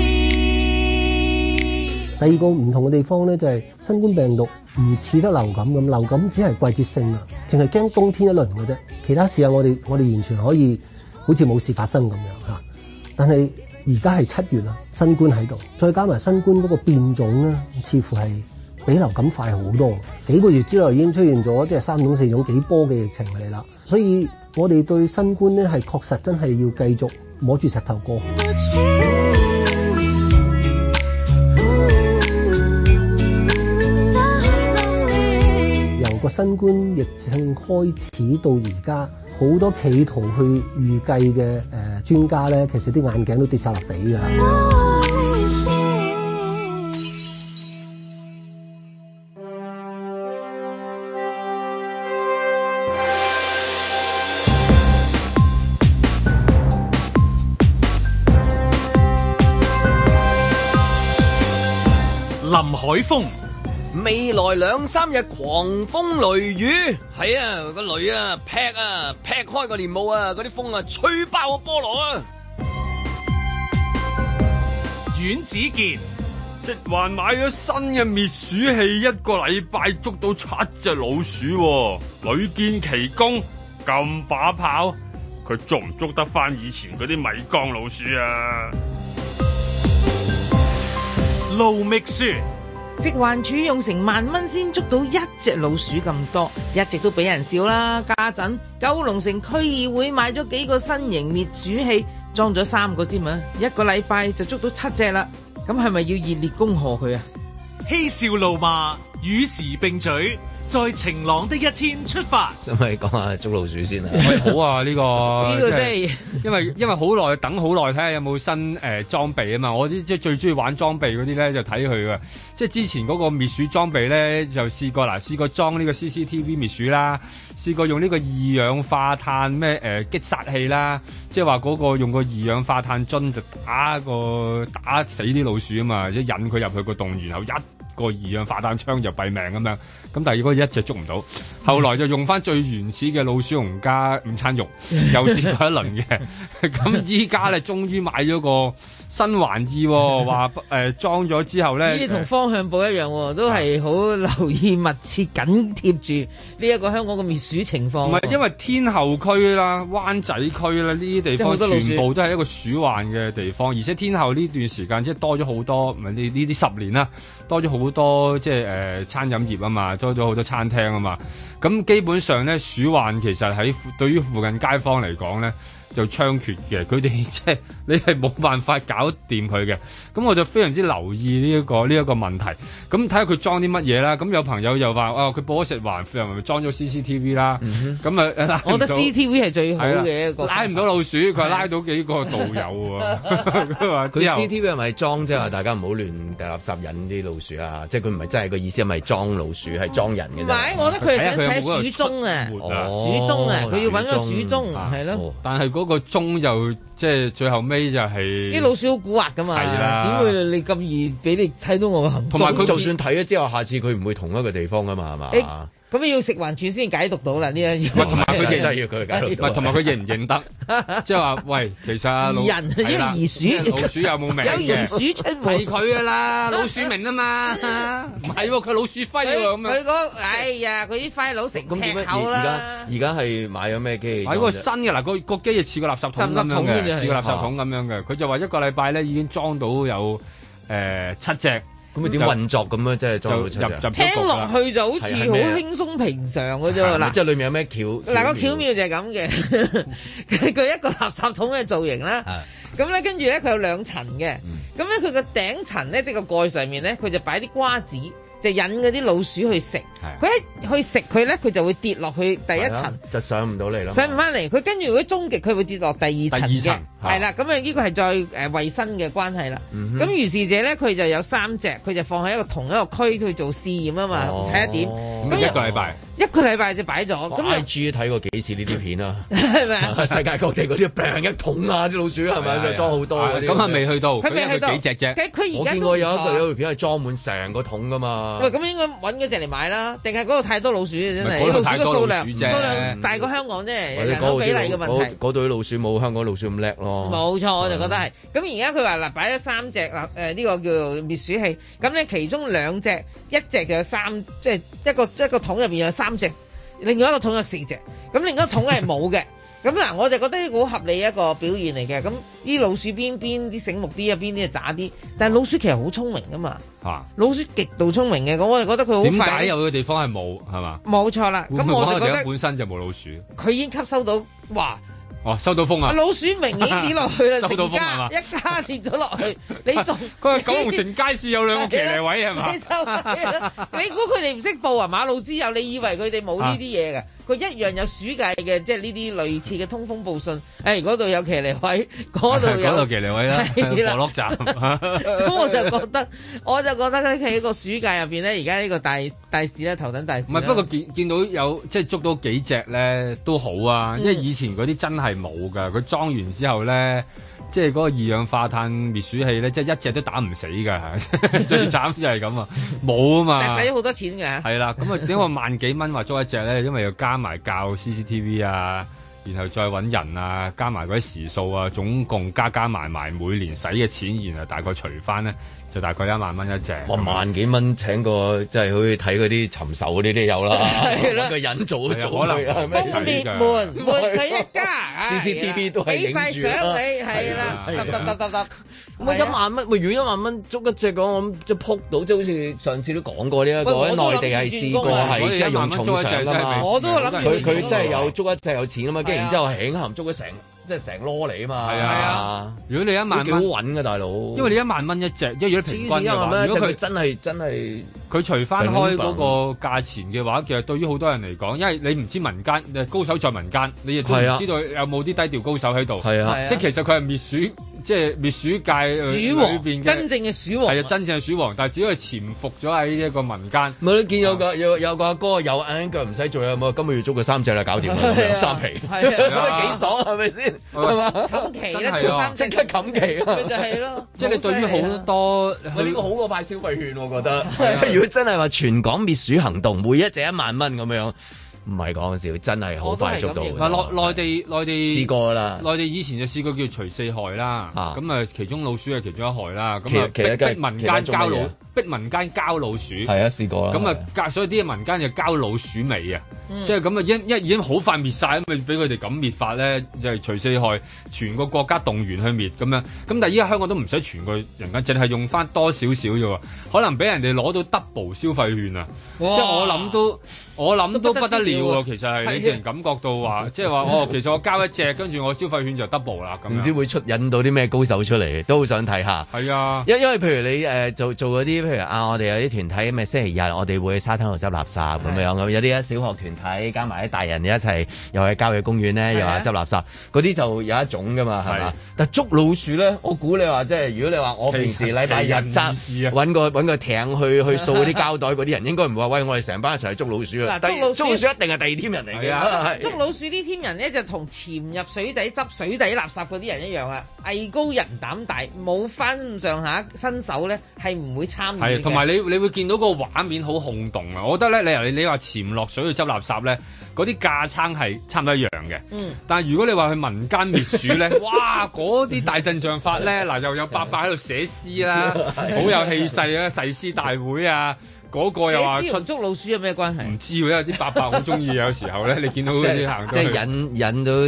第二個唔同嘅地方咧就係新冠病毒唔似得流感咁，流感只係季節性啊，淨係驚冬天一輪嘅啫，其他時候我哋完全可以好似冇事發生咁樣嚇，但係。而家係7月啦，新冠喺度，再加埋新冠嗰個變種咧，似乎係比流感快好多。幾個月之內已經出現咗即係3種4種幾波嘅疫情嚟啦，所以我哋對新冠咧係確實真係要繼續摸住石頭過。由個新冠疫情開始到而家。好多企圖去預計嘅專家咧，其實啲眼鏡都跌晒落地㗎。 林海峰。 未來2-3日狂風雷雨，係啊個雷啊劈開個簾幕啊，嗰啲風啊吹爆個菠蘿啊！ 阮子健， 食環買咗新嘅滅鼠器，1個禮拜捉到7隻老鼠，屢見奇功，咁把炮，佢捉唔捉得翻以前嗰啲米缸老鼠啊？ 盧覓雪。 食環署用成萬蚊先捉到1隻老鼠咁多，一直都俾人笑啦。家陣九龍城區議會買咗幾個新型滅鼠器，裝咗3個添啊，1個禮拜就捉到7隻啦。咁係咪要熱烈恭賀佢啊？ 嬉笑怒罵，與時並舉，在晴朗的一天出發。 使咪講下捉老鼠先啊？ 好啊，呢個真係， 因為好耐等好耐，睇下有冇新裝備啊嘛。我啲即係最中意玩裝備嗰啲咧，就睇佢噶。即係之前嗰個滅鼠裝備咧，就試過裝呢個 CCTV 滅鼠啦，試過用呢個二氧化碳擊殺器啦，即係話嗰個用個二氧化碳樽就打死啲老鼠啊嘛，即係引佢入去個洞，然後個二氧化碳槍就斃命咁樣，咁但係如果一隻捉唔到，後來就用翻最原始嘅老鼠籠加午餐肉，又試過一輪嘅，咁依家咧終於買咗個新玩意，話裝咗之後咧， 呢啲同方向報一樣，都係好留意密切緊貼住呢一個香港嘅滅鼠情況。 唔係，因為天后區啦、灣仔區啦呢啲地方全部都係一個鼠患嘅地方，而且天后呢段時間即係多咗好多，唔係呢啲10年啦，多咗好多即係餐飲業啊嘛，多咗好多餐廳啊嘛，咁基本上咧鼠患其實喺對於附近街坊嚟講咧就猖獗嘅，佢哋即係你係冇辦法搞掂佢嘅，咁我就非常之留意呢一個問題，咁睇下佢裝啲乜嘢啦，咁有朋友又話佢報咗食環，又咪裝咗 CCTV 啦，咁啊我覺得 CCTV 係最好嘅一個， 拉唔到老鼠，佢係拉到幾個道友喎， 佢 CCTV 係咪裝即係話大家唔好亂掉垃圾引啲老鼠啊？即係佢唔係真係個意思係咪裝老鼠係裝人嘅啫？ 唔係，我覺得佢係想寫鼠蹤啊，鼠蹤啊，佢要揾個鼠蹤係咯， 但係嗰個鐘就即係最後尾就係啲老鼠好蠱惑噶嘛，點會你咁易俾你睇到我嘅行蹤？ 同埋佢就算睇咗之後，下次佢唔會同一個地方噶嘛，係嘛？ 咁要食環署先解讀到啦呢一樣。 同埋佢真係要佢解讀到， 同埋佢認唔認得？即係話喂，其實人因為疑鼠， 老鼠有冇名嘅？ 有鼠出門係佢噶啦，老鼠名啊嘛，唔係喎，佢老鼠徽喎咁樣。 佢講哎呀，佢啲徽佬成尺厚啦。 而家係買咗咩機器？ 買個新嘅嗱，個機就似個垃圾桶咁樣嘅，似個垃圾桶咁樣嘅。佢就話1個禮拜咧已經裝到有7隻。 咁佢點運作咁樣？即係裝到7隻。 聽落去就好似好輕鬆平常嘅啫喎。嗱， 即係裏面有咩巧？ 嗱，個巧妙就係咁嘅，佢一個垃圾桶嘅造型啦。咁咧，跟住咧佢有2層嘅。咁咧佢個頂層咧，即係個蓋上面咧，佢就擺啲瓜子。 就引嗰啲老鼠去食。佢一去食佢咧，佢就會跌落去第一層， 就上唔到嚟啦。 上唔翻嚟，佢跟住如果終極佢會跌落第二層嘅，係啦。咁啊呢個係再衞生嘅關係啦。咁如是者咧，佢就有3隻，佢就放喺同一個區去做試驗啊嘛，睇下點。咁一個禮拜就擺咗。咁 IG 睇過幾次呢啲片啊？ 係咪啊？ 世界各地嗰啲病一桶啊，啲老鼠係咪就裝好多嗰啲？ 咁係未去到， 佢未去到幾隻啫？ 我見過有條片係裝滿成個桶噶嘛。 喂，咁應該揾嗰隻嚟買啦，定係嗰度太多老鼠啊？真係， 老鼠嘅數量啫， 大過香港啫，人口比例嘅問題。 嗰度啲老鼠冇香港老鼠咁叻咯。 冇錯，我就覺得係。咁而家佢話嗱，擺咗3隻嗱，呢個叫做滅鼠器。咁咧其中2隻，一隻就有3，即係一個桶入邊有3隻，另外一個桶有4隻。咁另一個桶係冇嘅。咁嗱，我就覺得呢個好合理一個表現嚟嘅。咁啲老鼠邊啲醒目啲啊，邊啲係渣啲。但係老鼠其實好聰明噶嘛。老鼠極度聰明嘅，咁我就覺得佢好快。點解有嘅地方係冇係嘛？ 冇錯啦。咁我就覺得本身就冇老鼠。 佢已經吸收到，哇！ 收到風啊！ 老鼠明顯跌落去啦，成家一家跌咗落去，你仲佢話九龍城街市有2個騎呢位係嘛？ 你估佢哋唔識報啊？馬路之友，你以為佢哋冇呢啲嘢嘅？佢一樣有鼠界嘅，即係呢啲類似嘅通風報信。嗰度有騎呢位，嗰度騎呢位啦，貨落站。 咁我就覺得咧喺個鼠界入邊咧，而家呢個大事咧，頭等大事。 唔係，不過見到有即係捉到幾隻咧都好啊，因為以前嗰啲真係冇㗎，佢裝完之後咧，即係嗰個二氧化碳滅鼠器咧，即係一隻都打唔死㗎，最慘就係咁啊，冇啊嘛。 但係使咗好多錢㗎。係啦，咁啊點解萬幾蚊話捉一隻咧？因為要加埋教 CCTV 啊，然後再揾人啊，加埋嗰啲時數啊，總共加埋每年使嘅錢，然後大概除翻咧，就大概1萬蚊一隻。 哇，萬幾蚊請個即係好似睇嗰啲尋仇嗰啲都有啦，揾個人做可能東烈門佢一家 CCTV 都係影住啦，俾晒相你係啦，得。 咁1萬蚊，如果1萬蚊捉一隻講，我諗即係撲到，即係好似上次都講過呢一個喺內地係試過係即係用重賞㗎嘛。 我都諗佢真係有捉一隻有錢啊嘛，跟住然之後輕輕捉咗即係成籮嚟啊嘛。係啊， 如果你1萬蚊， 幾好揾㗎大佬。因為你1萬蚊一隻，因為如果平均嘅話，如果佢真係佢除翻開嗰個價錢嘅話，其實對於好多人嚟講，因為你唔知民間高手在民間，你亦都唔知道有冇啲低調高手喺度。係啊，即係其實佢係滅鼠。即係滅鼠界鼠王裏邊真正嘅鼠王， 係啊，真正嘅鼠王，但係只係潛伏咗喺一個民間。 咪都見有個阿哥有眼腳唔使做啊嘛，今個月捉佢3隻啦，搞掂啦，3皮，幾爽係咪先？係嘛？ 冚期咧，做3隻即刻冚期啦， 就係咯。 即係你對於好多， 呢個好過派消費券，我覺得。即係如果真係話全港滅鼠行動，每一隻1萬蚊咁樣。唔係講笑，真係好快捉到。 內地試過啦， 內地以前就試過叫除4害啦。咁啊，其中老鼠係其中一害啦。咁啊，逼民間交老鼠。係啊，試過啦。咁啊，所以啲民間就交老鼠尾啊。即係咁啊，已經好快滅晒，咁咪俾佢哋咁滅法咧，就係除4害，全個國家動員去滅咁樣。咁但係依家香港都唔使全個人間，淨係用翻多少少啫喎，可能俾人哋攞到 double 消費券啊！即係我諗都不得了喎。其實係你自然感覺到話，即係話其實我交一隻，跟住我消費券就 double 啦。咁唔知會引到啲咩高手出嚟，都好想睇下。 係啊， 因為譬如你做嗰啲，譬如我哋有啲團體咩星期日我哋會去沙灘度執垃圾咁樣，有啲小學團體加埋啲大人一齊又去郊野公園咧，又話執垃圾，嗰啲就有一種噶嘛，係嘛？但捉老鼠咧，我估你話即係如果你話我平時禮拜日執揾個艇去掃嗰啲膠袋嗰啲人，應該唔會話喂，我哋成班一齊去捉老鼠啊！捉老鼠一定係第二 team 人嚟嘅。 捉老鼠呢 team 人咧就同潛入水底執水底垃圾嗰啲人一樣啊，藝高人膽大，冇翻咁上下身手咧係唔會參與嘅。 同埋你會見到個畫面好轟動啊！我覺得咧，你話潛落水去執垃圾咧，嗰啲架撐係差唔多一樣嘅。但係如果你話去民間滅鼠咧，哇！嗰啲大陣仗法咧，嗱又有伯伯喺度寫詩啦，好有氣勢啊！誓師大會啊！嗰個又話出捉老鼠有咩關係？ 唔知喎，因為啲伯伯好中意有時候咧，你見到嗰啲行即係引到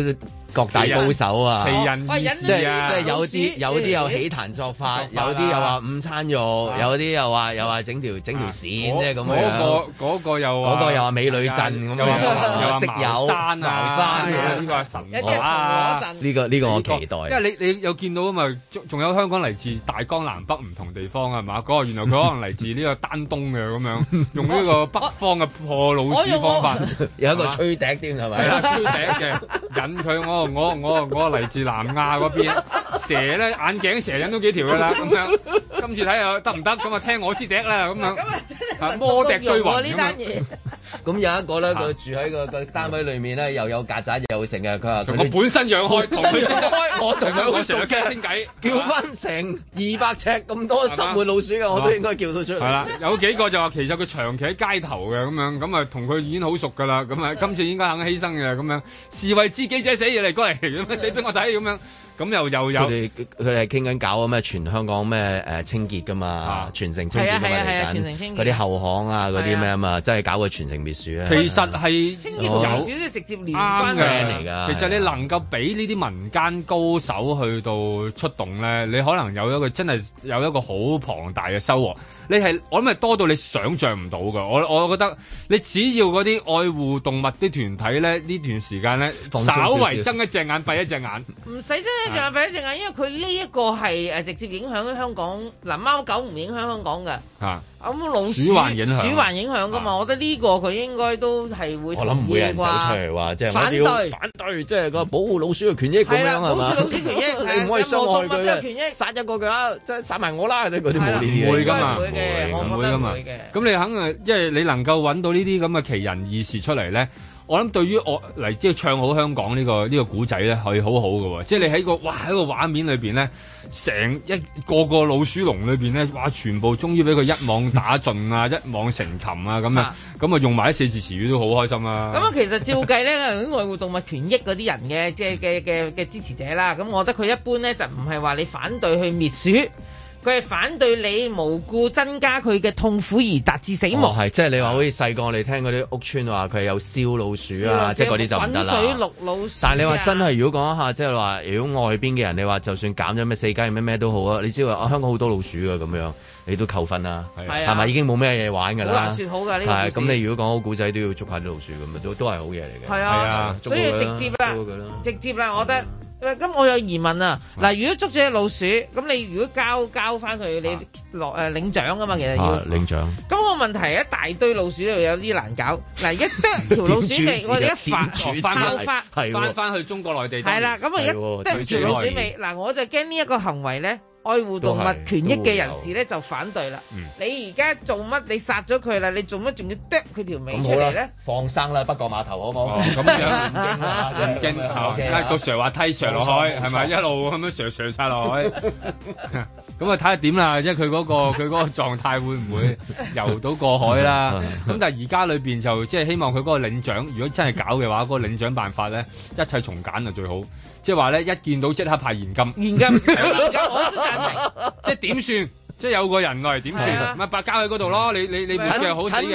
各大高手啊， 奇人異事啊， 即係有啲又起壇作法，有啲又話午餐肉，有啲又話整條線啫咁樣。 嗰個又話美女陣咁樣，又話食友山啊，呢個係神話。呢個我期待。 因為你有見到啊嘛，仲有香港嚟自大江南北唔同地方係嘛？嗰個原來佢可能嚟自呢個丹東嘅咁樣，用呢個北方嘅破老鼠方法， 有一個吹笛添係咪？ 係啦，吹笛嘅引佢我嚟自南亞嗰邊，蛇咧眼鏡蛇引都幾條㗎啦咁樣。今次睇下得唔得？咁啊聽我支笛啦咁樣。啊魔笛追魂呢單嘢。 咁有一個咧，佢住喺個單位裏面咧，又有曱甴又成嘅。佢話我本身養開，同佢開， 我同佢好熟嘅傾偈， 叫翻成200尺咁多塞滿老鼠嘅，我都應該叫到出嚟。 係啦，有幾個就話其實佢長期喺街頭嘅咁樣，咁啊同佢已經好熟㗎啦。咁啊今次應該肯犧牲嘅咁樣，士為知己者死嘢嚟過嚟，咁樣死俾我睇咁樣。咁又有佢哋係傾緊搞咩全香港咩清潔㗎嘛，全城清潔㗎嘛嚟緊，嗰啲後巷啊嗰啲咩啊嘛，真係搞個全城滅鼠啊！ 其實係清潔同滅鼠都直接連關嘅嚟㗎。 其實你能夠俾呢啲民間高手去到出動咧，你可能有一個真係有一個好龐大嘅收穫。你係我諗係多到你想像唔到㗎。我覺得你只要嗰啲愛護動物啲團體咧，呢段時間咧稍為睜一隻眼閉一隻眼， 唔使睜一隻眼閉一隻眼，因為佢呢一個係直接影響香港。嗱，貓狗唔影響香港㗎。咁老鼠還影響㗎嘛？我覺得呢個佢應該都係會。 我諗唔會有人走出嚟話即係反對，即係個保護老鼠嘅權益咁樣係嘛？ 保護老鼠權益， 你唔可以傷害佢嘅權益， 殺一個㗎，即係殺埋我啦！即係嗰啲冇呢啲嘢。唔會㗎嘛， 唔會㗎嘛。 咁你肯即係你能夠揾到呢啲咁嘅奇人異事出嚟咧？我諗對於我嚟即係唱好香港呢個古仔咧，係好好嘅喎。即係你喺個畫面裏邊咧，成一個老鼠籠裏邊咧，哇！全部終於俾佢一網打盡啊，一網成擒啊咁樣，咁啊用埋啲4字詞語都好開心啊！ 咁啊，其實照計咧，愛護動物權益嗰啲人嘅支持者啦，咁我覺得佢一般咧就唔係話你反對去滅鼠。佢係反對你無故增加佢嘅痛苦而達至死亡。 係即係你話好似細個我哋聽嗰啲屋邨話佢有燒老鼠啊，即係嗰啲就唔得啦。 滾水淥老鼠。 但係你話真係如果講一下，即係話如果外邊嘅人，你話就算減咗咩4雞咩都好啊，你知道香港好多老鼠啊咁樣，你都扣分啦，係咪已經冇咩嘢玩㗎啦？ 好難説好㗎呢個。 係咁，你如果講好古仔都要捉下啲老鼠咁啊，都係好嘢嚟嘅。 係啊，所以直接啦，我覺得。咁我有疑問啊！嗱，如果捉咗隻老鼠，咁你如果交翻佢，你落領獎啊嘛，其實要領獎。咁個問題係一大堆老鼠又有啲難搞。嗱，而家得條老鼠尾，我哋一翻去中國內地。 係啦，咁啊一得條老鼠尾，嗱我就驚呢一個行為咧。愛護動物權益嘅人士咧就反對啦。你而家做乜？你殺咗佢啦，你做乜仲要剁佢條尾出嚟咧？ 放生啦，北角碼頭好唔好？ 咁樣唔驚，個瀡滑梯瀡落海係咪一路咁樣瀡晒落海？咁啊睇下點啦，即係佢嗰個狀態會唔會游到過海啦？咁但係而家裏邊就即係希望佢嗰個領獎，如果真係搞嘅話，嗰個領獎辦法咧一切從簡就最好。即係話咧，一見到即刻派現金， 我都贊成。 即係點算？即係有個人落嚟點算？咪白交喺嗰度咯。你嘅好死嘅。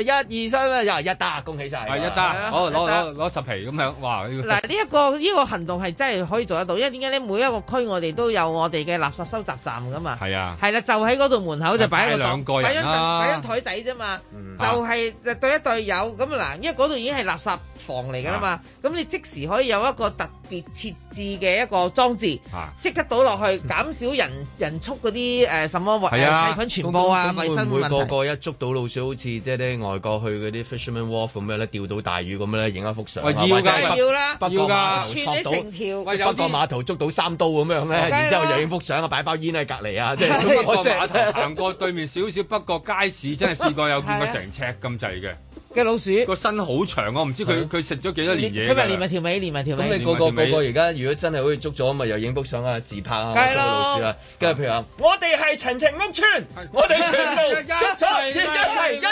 1、2、3又一打，恭喜晒。 係一打，攞10皮咁樣。哇！ 嗱，呢個行動係真係可以做得到，因為點解咧？每一個區我哋都有我哋嘅垃圾收集站噶嘛。係啊。係啦，就喺嗰度門口就擺一個檔，擺張台仔啫嘛。就係對一對有咁嗱，因為嗰度已經係垃圾房嚟噶啦嘛。咁你即時可以有一個特別設置嘅一個裝置，即刻倒落去，減少人畜嗰啲什麼細菌傳播啊，衞生問題。 個個一捉到老鼠，好似即係啲外國去嗰啲 fisherman wharf 咁樣咧，釣到大魚咁樣咧，影一幅相。 要啦， 北角碼頭串起成條， 北角碼頭捉到3刀咁樣咧，然之後又影幅相啊，擺包煙喺隔離啊，即係北角碼頭行過對面少少北角街市，真係試過有見過成尺咁滯嘅老鼠， 個身好長，我唔知佢食咗幾多年嘢。 佢咪連埋條尾。 咁你個而家如果真係好似捉咗，咪又影幅相啊，自拍啊，捉老鼠啊，跟住譬如話，我哋係陳情屋村，我哋全部捉咗一齊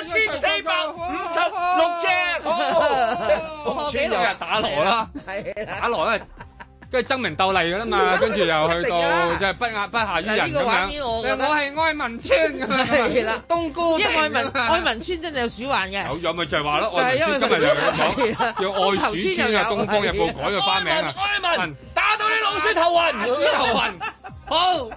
1456隻，屋村又打鑼啦，打鑼咧。 跟住爭名鬥麗㗎啦嘛，跟住又去到即係不下於人咁樣。 呢個畫面我覺得我係愛民村咁樣。 係啦， 冬菇。 因為愛民村真係有鼠患嘅。 有咪就係話咯， 愛民村今日又講叫愛鼠村啊，《東方日報》改個花名啊， 愛民打到你老鼠頭暈， 鼠頭暈。好，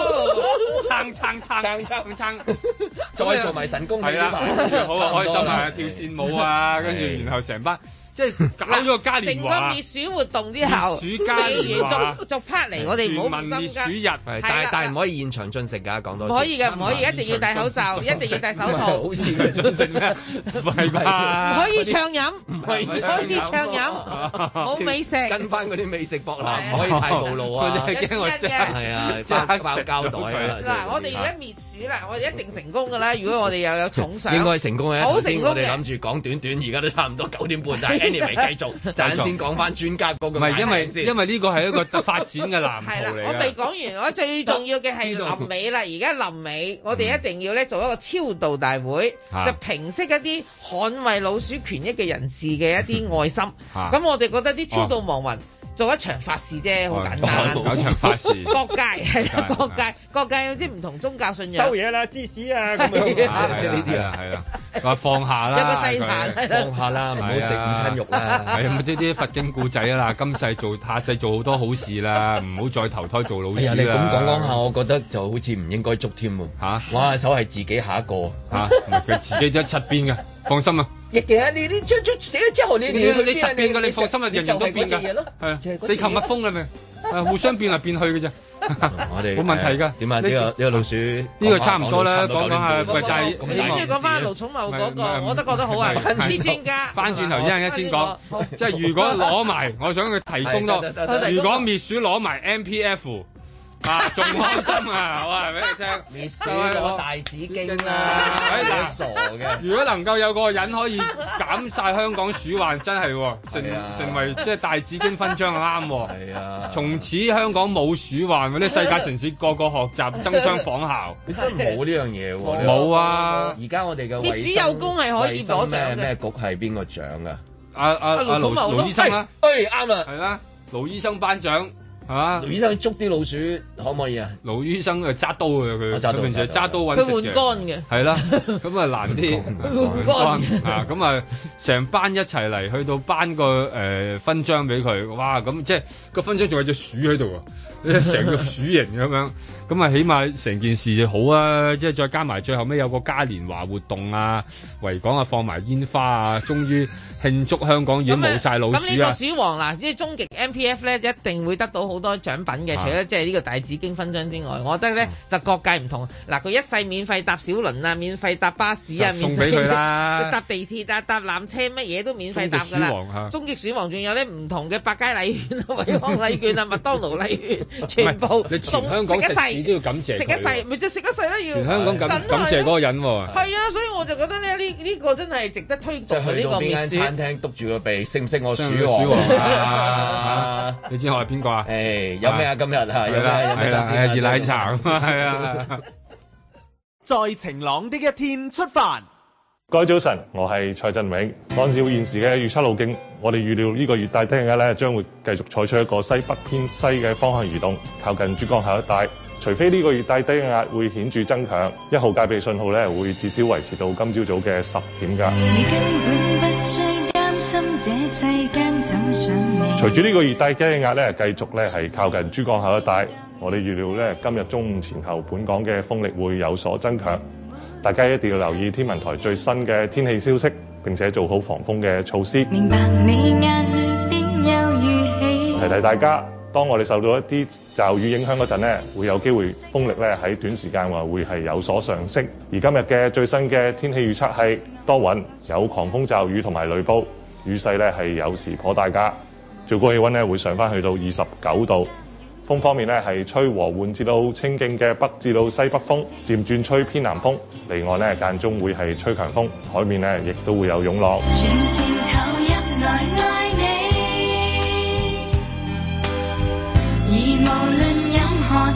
撐， 再做埋神功係啦， 好啊，開心啊，跳線舞啊，跟住然後成班。即係搞咗個嘉年華， 成個滅鼠活動之後， 滅鼠嘉年華逐 part 嚟，我哋唔好唔心急。 滅鼠日， 但係唔可以現場進食㗎，講多。 唔可以嘅，唔可以，一定要戴口罩，一定要戴手套。 好似嘅進食咩？ 唔係吧？ 唔可以暢飲， 唔可以暢飲，冇美食。 跟翻嗰啲美食博覽，唔可以太暴露啊！ 驚我真係啊，即係包膠袋啊！ 嗱，我哋而家滅鼠啦，我哋一定成功㗎啦！如果我哋又有重賞， 應該成功嘅。 好成功嘅。 我哋諗住講短，而家都差唔多9點半，但係 anyway 繼續。陣先講翻專家嗰個， 唔係因為呢個係一個發展嘅藍圖嚟嘅。係啦， 我未講完，我最重要嘅係臨尾啦。而家臨尾，我哋一定要咧做一個超度大會，就平息一啲捍衛老鼠權益嘅人士嘅一啲愛心。咁我哋覺得啲超度亡魂做一場法事啫，好簡單。 搞場法事， 各界係啦，各界有啲唔同宗教信仰。 收嘢啦，芝士啊，咁樣即係呢啲啊， 係啦。話放下啦， 有個祭壇， 放下啦，唔好食午餐肉啦。 係啊，啲佛經故仔啦，今世做下世做好多好事啦，唔好再投胎做老鼠啦。 你咁講下，我覺得就好似唔應該捉添喎。嚇，我下手係自己下一個嚇，佢自己都七邊嘅，放心啊。 亦嘅，你出寫咗之後，你七邊嘅，你放心啊，人人都變㗎。係啊，地球蜜蜂係咪？互相變嚟變去嘅啫。 我哋冇問題㗎。 點啊？呢個老鼠呢個差唔多啦，講下。喂，但係你跟住講翻盧寵茂嗰個，我都覺得好啊。啲專家翻轉頭一陣間先講，即係如果攞埋，我想佢提供多。如果滅鼠攞埋 MPF。仲開心啊！我話俾你聽， 滅鼠攞大紫荊啦，傻嘅。 如果能夠有個人可以減晒香港鼠患，真係成為即係大紫荊勳章啱。 係啊， 從此香港冇鼠患，嗰啲世界城市個個學習爭相仿效。 你真係冇呢樣嘢喎！ 冇啊！ 而家我哋嘅滅鼠有功係可以攞獎嘅。 咩局係邊個獎啊？ 盧醫生啦， 啱啦， 係啦，盧醫生頒獎。係嘛？ 盧醫生捉啲老鼠可唔可以啊？ 盧醫生係揸刀嘅佢平時揸刀揾食嘅。 佢換肝嘅。 係啦，咁啊難啲。換肝啊！咁啊，成班一齊嚟，去到頒個勳章俾佢。哇！咁即係個勳章仲有隻鼠喺度啊！成個鼠形咁樣。咁啊，起碼成件事就好啊！即係再加埋最後尾有個嘉年華活動啊，維港啊放埋煙花啊，終於慶祝香港已經冇晒老鼠啊！ 咁呢個鼠王嗱，即係終極 MPF 咧，一定會得到好多獎品嘅。除咗即係呢個大紫荊勳章之外，我覺得咧就各界唔同。嗱，佢一世免費搭小輪啊，免費搭巴士啊， 送俾佢啦， 搭地鐵啊，搭纜車乜嘢都免費搭㗎啦。終極鼠王仲有咧唔同嘅百佳禮券啊、惠康禮券啊、麥當勞禮券，全部送食一世。 都要感謝， 食一世咪即係食一世啦，要全香港感謝嗰個人喎。 係啊，所以我就覺得咧呢個真係值得推動嘅呢個滅鼠。 邊間餐廳篤住個鼻，識唔識我鼠王啊？ 你知我係邊個啊？ 誒，有咩啊？今日啊，有咩新鮮熱奶茶啊？係啊！ 在晴朗的一天出發。 各位早晨，我係蔡振永。按照現時嘅預測路徑，我哋預料呢個熱帶低壓咧將會繼續採取一個西北偏西嘅方向移動，靠近珠江口一帶。除非呢個熱帶低壓會顯著增強，1號戒備信號咧會至少維持到今朝早嘅10點㗎。隨住呢個熱帶低壓咧繼續咧係靠近珠江口一帶，我哋預料咧今日中午前後本港嘅風力會有所增強。大家一定要留意天文台最新嘅天氣消息，並且做好防風嘅措施。明白你眼裏邊有語氣。提提大家，當我哋受到一啲驟雨影響嗰陣咧，會有機會風力咧喺短時間會係有所上升。而今日嘅最新嘅天氣預測係多雲，有狂風驟雨同埋雷暴，雨勢咧係有時頗大㗎。最高氣溫咧會上返去到29度。風方面咧係吹和緩至到清勁嘅北至到西北風，漸轉吹偏南風，離岸咧間中會係吹強風，海面咧亦都會有湧浪。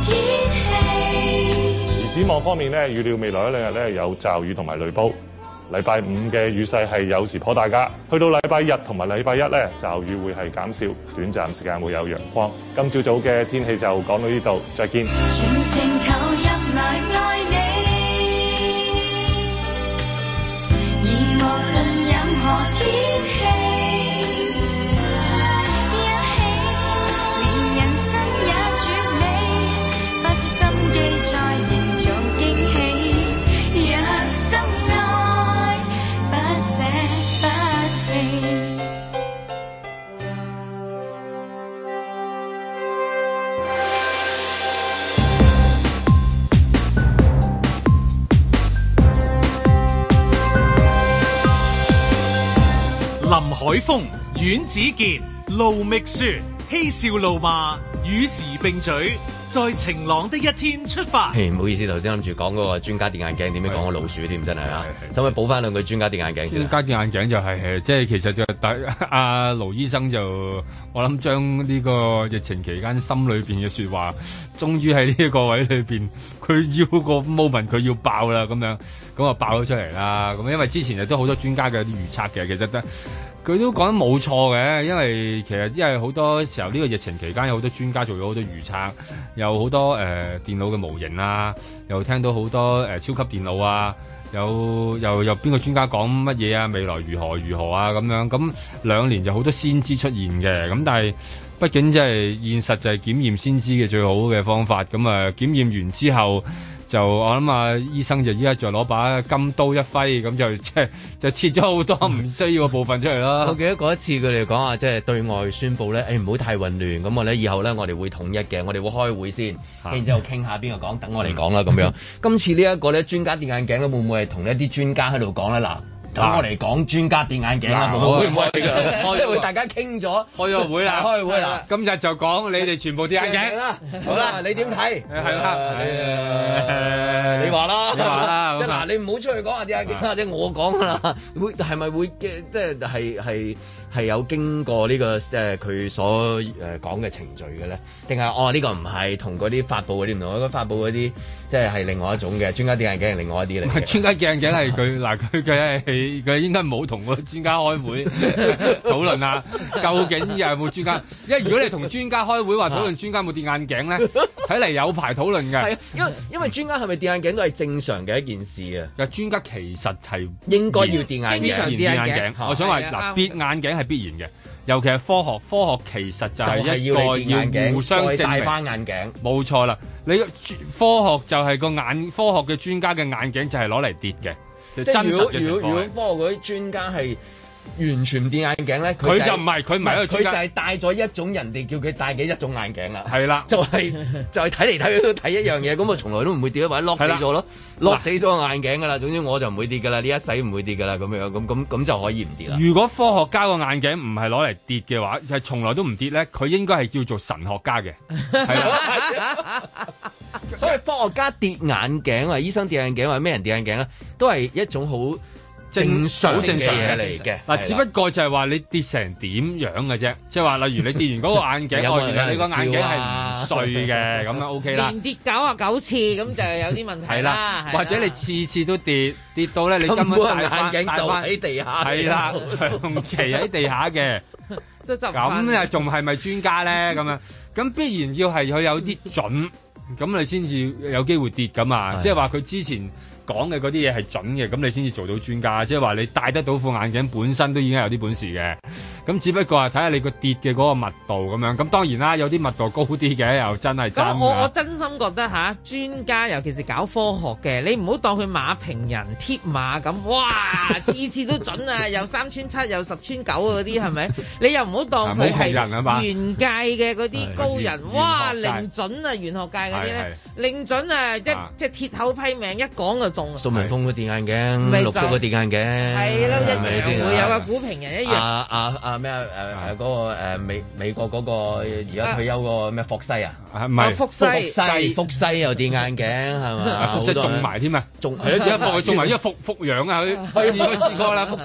而展望方面咧，預料未來一兩日咧有驟雨同埋雷暴， 禮拜五嘅雨勢係有時頗大㗎，去到禮拜日同埋禮拜一咧，驟雨會係減少，短暫時間會有陽光。今朝早嘅天氣就講到呢度，再見。 全情投入來愛你，而無論任何天氣，一起連人生也絕美，花些心機再營造驚喜。若深愛，不捨不棄。 林海峰、阮子健、盧覓雪，嬉笑怒罵，與時並舉，在晴朗的一天出發。 唔好意思，頭先諗住講嗰個專家電眼鏡，點樣講個老鼠添，真係啊！可唔可以補翻兩句專家電眼鏡先？ 專家電眼鏡就係即係其實就阿盧醫生就我諗將呢個疫情期間心裏邊嘅説話，終於喺呢一個位裏邊，佢要個 moment 佢要爆啦咁樣，咁啊爆咗出嚟啦。咁因為之前亦都好多專家嘅啲預測嘅，其實佢都講得冇錯嘅，因為其實因為好多時候呢個疫情期間有好多專家做咗好多預測，有好多電腦嘅模型啊，又聽到好多超級電腦啊，又邊個專家講乜嘢啊，未來如何啊咁樣，咁2年就好多先知出現嘅，咁但係畢竟即係現實就係檢驗先知嘅最好嘅方法，咁啊檢驗完之後。就我諗啊，醫生就依家就攞把金刀一揮，咁就切咗好多唔需要嘅部分出嚟咯。 我記得嗰一次佢哋講話，即係對外宣佈咧，唔好太混亂，咁我咧以後咧我哋會統一嘅，我哋會開會先，然之後傾下邊個講，等我嚟講啦咁樣。今次呢一個咧專家電眼鏡咧，會唔會係同一啲專家喺度講咧？嗱。等我嚟講專家電眼鏡啦，會唔會㗎？即係會大家傾咗開咗會啦， 開會啦。 今日就講你哋全部電眼鏡啦。好啦，你點睇？ 係啦， 你話啦， 你話啦。 即係嗱，你唔好出去講下電眼鏡，或者我講㗎啦。會係咪會即係係有經過呢個即係佢所講嘅程序嘅咧？定係呢個唔係同嗰啲發布嗰啲唔同？嗰發布嗰啲即係另外一種嘅專家電眼鏡係另外一啲嚟嘅。 專家電眼鏡係佢嗱佢佢應該冇同個專家開會討論啊，究竟有冇專家？因為如果你同專家開會話討論專家有冇電眼鏡咧，睇嚟有排討論嘅。 係啊，因為專家係咪電眼鏡都係正常嘅一件事啊。 但專家其實係應該要電眼鏡。 我想話嗱，跌眼鏡係必然嘅，尤其係科學其實就係一個要互相證明。 戴翻眼鏡， 冇錯啦。你科學就係科學嘅專家嘅眼鏡就係攞嚟跌嘅。 即係如果科學嗰啲專家係完全唔跌眼鏡咧， 佢就唔係佢唔係一個專家， 佢就係戴咗一種人哋叫佢戴嘅一種眼鏡啦。 係啦， 就係睇嚟睇去都睇一樣嘢，咁我從來都唔會跌，或者 lock 死咗咯，lock 死咗個眼鏡噶啦。總之我就唔會跌噶啦，呢一世唔會跌噶啦，咁樣咁就可以唔跌啦。 如果科學家個眼鏡唔係攞嚟跌嘅話，係從來都唔跌咧，佢應該係叫做神學家嘅。係啦， 所以科學家跌眼鏡啊，醫生跌眼鏡或者咩人跌眼鏡咧，都係一種好正常嘅嘢嚟嘅。 嗱，只不過就係話你跌成點樣嘅啫，即係話例如你跌完嗰個眼鏡，原來你個眼鏡係唔碎嘅，咁樣 OK 啦。 連跌99次咁就有啲問題啦。 係啦，或者你次次都跌到咧，你根本戴眼鏡就喺地下。 係啦，長期喺地下嘅。咁又仲係咪專家咧？咁樣咁必然要係佢有啲準，咁你先至有機會跌㗎嘛。即係話佢之前講嘅嗰啲嘢係準嘅，咁你先至做到專家。即係話你戴得到副眼鏡本身都已經有啲本事嘅，咁只不過係睇下你個跌嘅嗰個密度咁樣。咁當然啦，有啲密度高啲嘅又真係真。 咁我真心覺得嚇專家，尤其是搞科學嘅，你唔好當佢馬評人貼馬咁，哇次次都準啊，又3穿7又10穿9嗰啲係咪？你又唔好當佢係玄界嘅嗰啲高人，哇零準啊，玄學界嗰啲咧零準啊，即係鐵口批命一講就中。 蘇文峰嘅電眼鏡，陸叔嘅電眼鏡， 係啦，一樣會有個股評人一樣。 咩嗰個美國嗰個而家退休個咩霍西啊？ 唔係福西又電眼鏡係嘛？ 福西中埋添啊！ 中係咯， 即係佢中埋，因為復陽啊，佢試過啦，福西。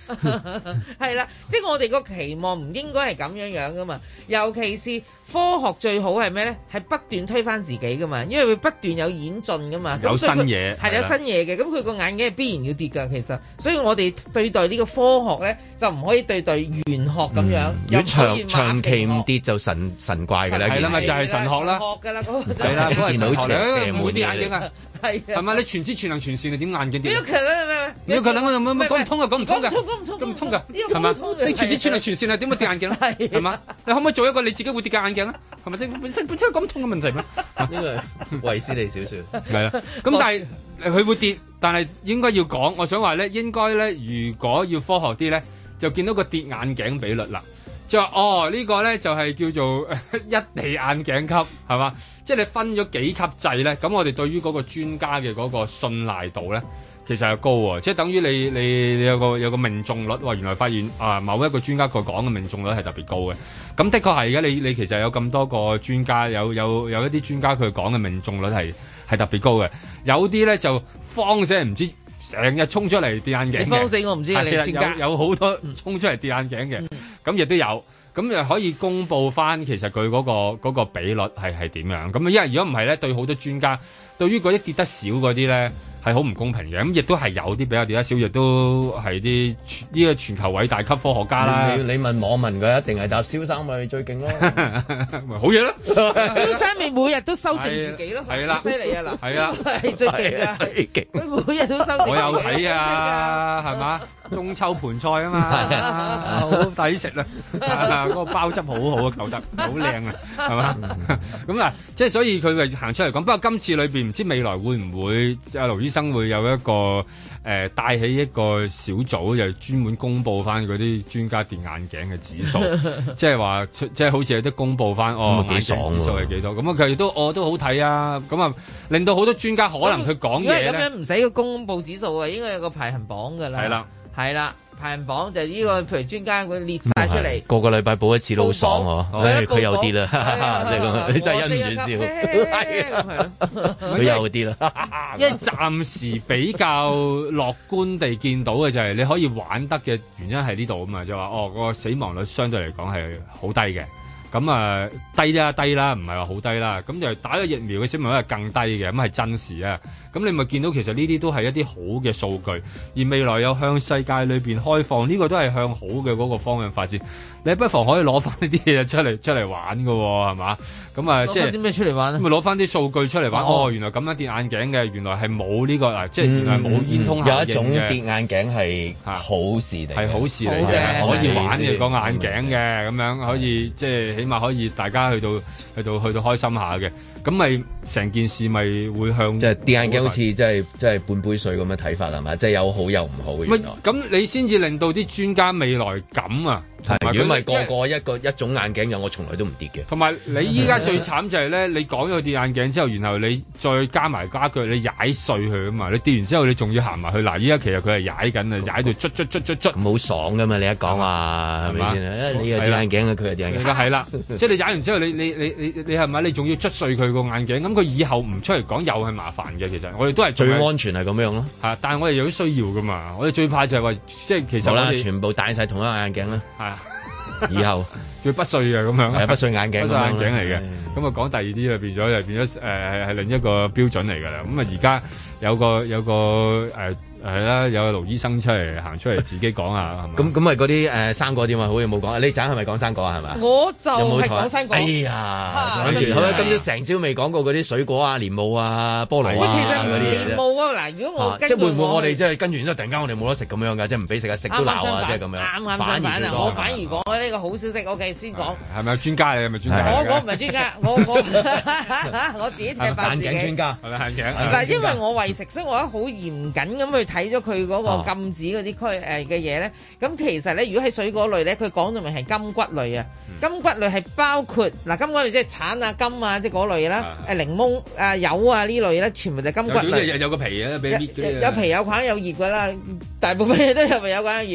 係啦，即係我哋個期望唔應該係咁樣噶嘛，尤其是科學最好係咩咧？係不斷推翻自己噶嘛，因為會不斷有演進噶嘛， 有新嘢係有新嘢嘅，咁佢個眼鏡係必然要跌噶，其實，所以我哋對待呢個科學咧就唔可以對待玄學咁樣。 如果長期唔跌就神怪㗎啦， 係啦，咪就係神學啦， 學㗎啦，嗰個係啦，嗰個神學唔會跌眼鏡啊，係咪？你全知全能全善，你點眼鏡跌？ 呢個其實你佢等我乜講唔通啊，講唔通㗎， 講唔通㗎， 係嘛？你全知全能全善係點會跌眼鏡咧？係嘛？你可唔可以做一個你自己會跌嘅眼鏡咧？係咪本身講唔通嘅問題咩？ 呢個衛斯理小説係啦，咁但係佢會跌，但係應該要講，我想話咧，應該咧，如果要科學啲咧，就見到個跌眼鏡比率啦，就話呢個咧就係叫做一地眼鏡級係嘛？即係你分咗幾級制咧，咁我哋對於嗰個專家嘅嗰個信賴度咧，其實係高喎，即係等於你有個命中率，原來發現某一個專家佢講嘅命中率係特別高嘅，咁的確係嘅。你其實有咁多個專家，有一啲專家佢講嘅命中率係特別高嘅，有啲咧就慌死唔知成日衝出嚟跌眼鏡嘅， 你慌死我唔知你專家有好多衝出嚟跌眼鏡嘅，咁亦都有。咁又可以公佈翻其實佢嗰個比率係點樣？咁因為如果唔係咧，對好多專家，對於嗰啲跌得少嗰啲咧係好唔公平嘅。咁亦都係有啲比較跌得少，亦都係啲呢個全球偉大級科學家啦。 你問網民佢一定係答蕭生咪最勁咯， 咪好嘢咯。 蕭生咪每日都修正自己咯， 係啦， 犀利啊嗱， 係啊， 係最勁啊， 最勁。 佢每日都修正。 我有睇啊，係嘛？中秋盤菜啊嘛，好抵食啊！嗰個包汁好好啊，扣得好靚啊，係嘛？咁嗱，即係所以佢咪行出嚟講。不過今次裏邊唔知未來會唔會阿盧醫生會有一個帶起一個小組，就專門公佈翻嗰啲專家跌眼鏡嘅指數，即係話即係好似有啲公佈翻眼鏡指數係幾多？咁啊佢都都好睇啊！咁啊令到好多專家可能佢講嘢咧， 咁樣唔使個公佈指數啊，應該有個排行榜㗎啦。 係啦。 係啦，排行榜就呢個，譬如專家佢列晒出嚟， 個個禮拜報一次都好爽喎。佢有啲啦，即係咁，你真係忍唔住笑。佢有啲啦， 因為暫時比較樂觀地見到嘅就係你可以玩得嘅原因係呢度啊嘛，就話個死亡率相對嚟講係好低嘅。咁低啦，唔係話好低啦。咁就打咗疫苗嘅死亡率係更低嘅，咁係真事啊。咁你咪見到其實呢啲都係一啲好嘅數據，而未來有向世界裏邊開放，呢個都係向好嘅嗰個方向發展。你不妨可以攞翻呢啲嘢出嚟玩㗎喎，係嘛？咁即係啲咩出嚟玩咧？ 咁咪攞翻啲數據出嚟玩。原來咁樣跌眼鏡嘅，原來係冇呢個即係原來冇煙通效應嘅。 有一種跌眼鏡係好事嚟， 係好事嚟嘅，可以玩嘅個眼鏡嘅，咁樣可以即係起碼可以大家去到開心下嘅。咁咪成件事咪會向即係跌眼鏡好似即係半杯水咁嘅睇法係嘛？即係有好有唔好嘅。原來咁你先至令到啲專家未來咁啊！ 如果唔係個個一種眼鏡有，我從來都唔跌嘅。 同埋你依家最慘就係咧，你講咗跌眼鏡之後，然後你再加埋家具，你踩碎佢啊嘛！你跌完之後，你仲要行埋去。嗱，依家其實佢係踩緊啊，踩到捽， 唔好爽噶嘛！你一講話係咪先？你又跌眼鏡啊，佢又跌眼鏡。 係啦，即係你踩完之後，你係咪？你仲要捽碎佢個眼鏡？咁佢以後唔出嚟講又係麻煩嘅。其實我哋都係最安全係咁樣咯。 係，但係我哋有啲需要噶嘛。我哋最怕就係話，即係其實我哋全部戴晒同一個眼鏡啦。以後叫不碎嘅咁樣， 係不碎眼鏡， 不碎眼鏡嚟嘅。咁啊講第二啲就變咗係另一個標準嚟㗎啦。咁啊而家有個係啦，有個盧醫生行出嚟自己講下，係嘛？ 咁咪嗰啲生果點啊？好似冇講。你陣係咪講生果啊？係咪？ 我就係講生果。 哎呀，跟住好啦，今朝成朝未講過嗰啲水果啊、蓮霧啊、菠蘿啊嗰啲嘢。 蓮霧啊，嗱，如果我即係會唔會我哋即係跟住之後突然間我哋冇得食咁樣㗎？即係唔俾食啊，食都鬧啊，即係咁樣。 啱相反啊！我反而講呢個好消息。OK，先講。 係咪專家嚟？係咪專家？ 我唔係專家，我自己睇爆自己。 眼鏡專家係咪眼鏡？ 嗱，因為我為食，所以我好嚴謹咁去睇咗佢嗰個禁止嗰啲嘅嘢咧。咁其實咧，如果係水果類咧，佢講到明係金桔類啊。金桔類係包括嗱，金桔類即係橙啊、金啊，即係嗰類啦。檸檬啊、柚啊呢類咧，全部就係金桔類。 有個皮啊，俾搣有皮有梗有葉㗎啦，大部分嘢都有皮有梗有葉。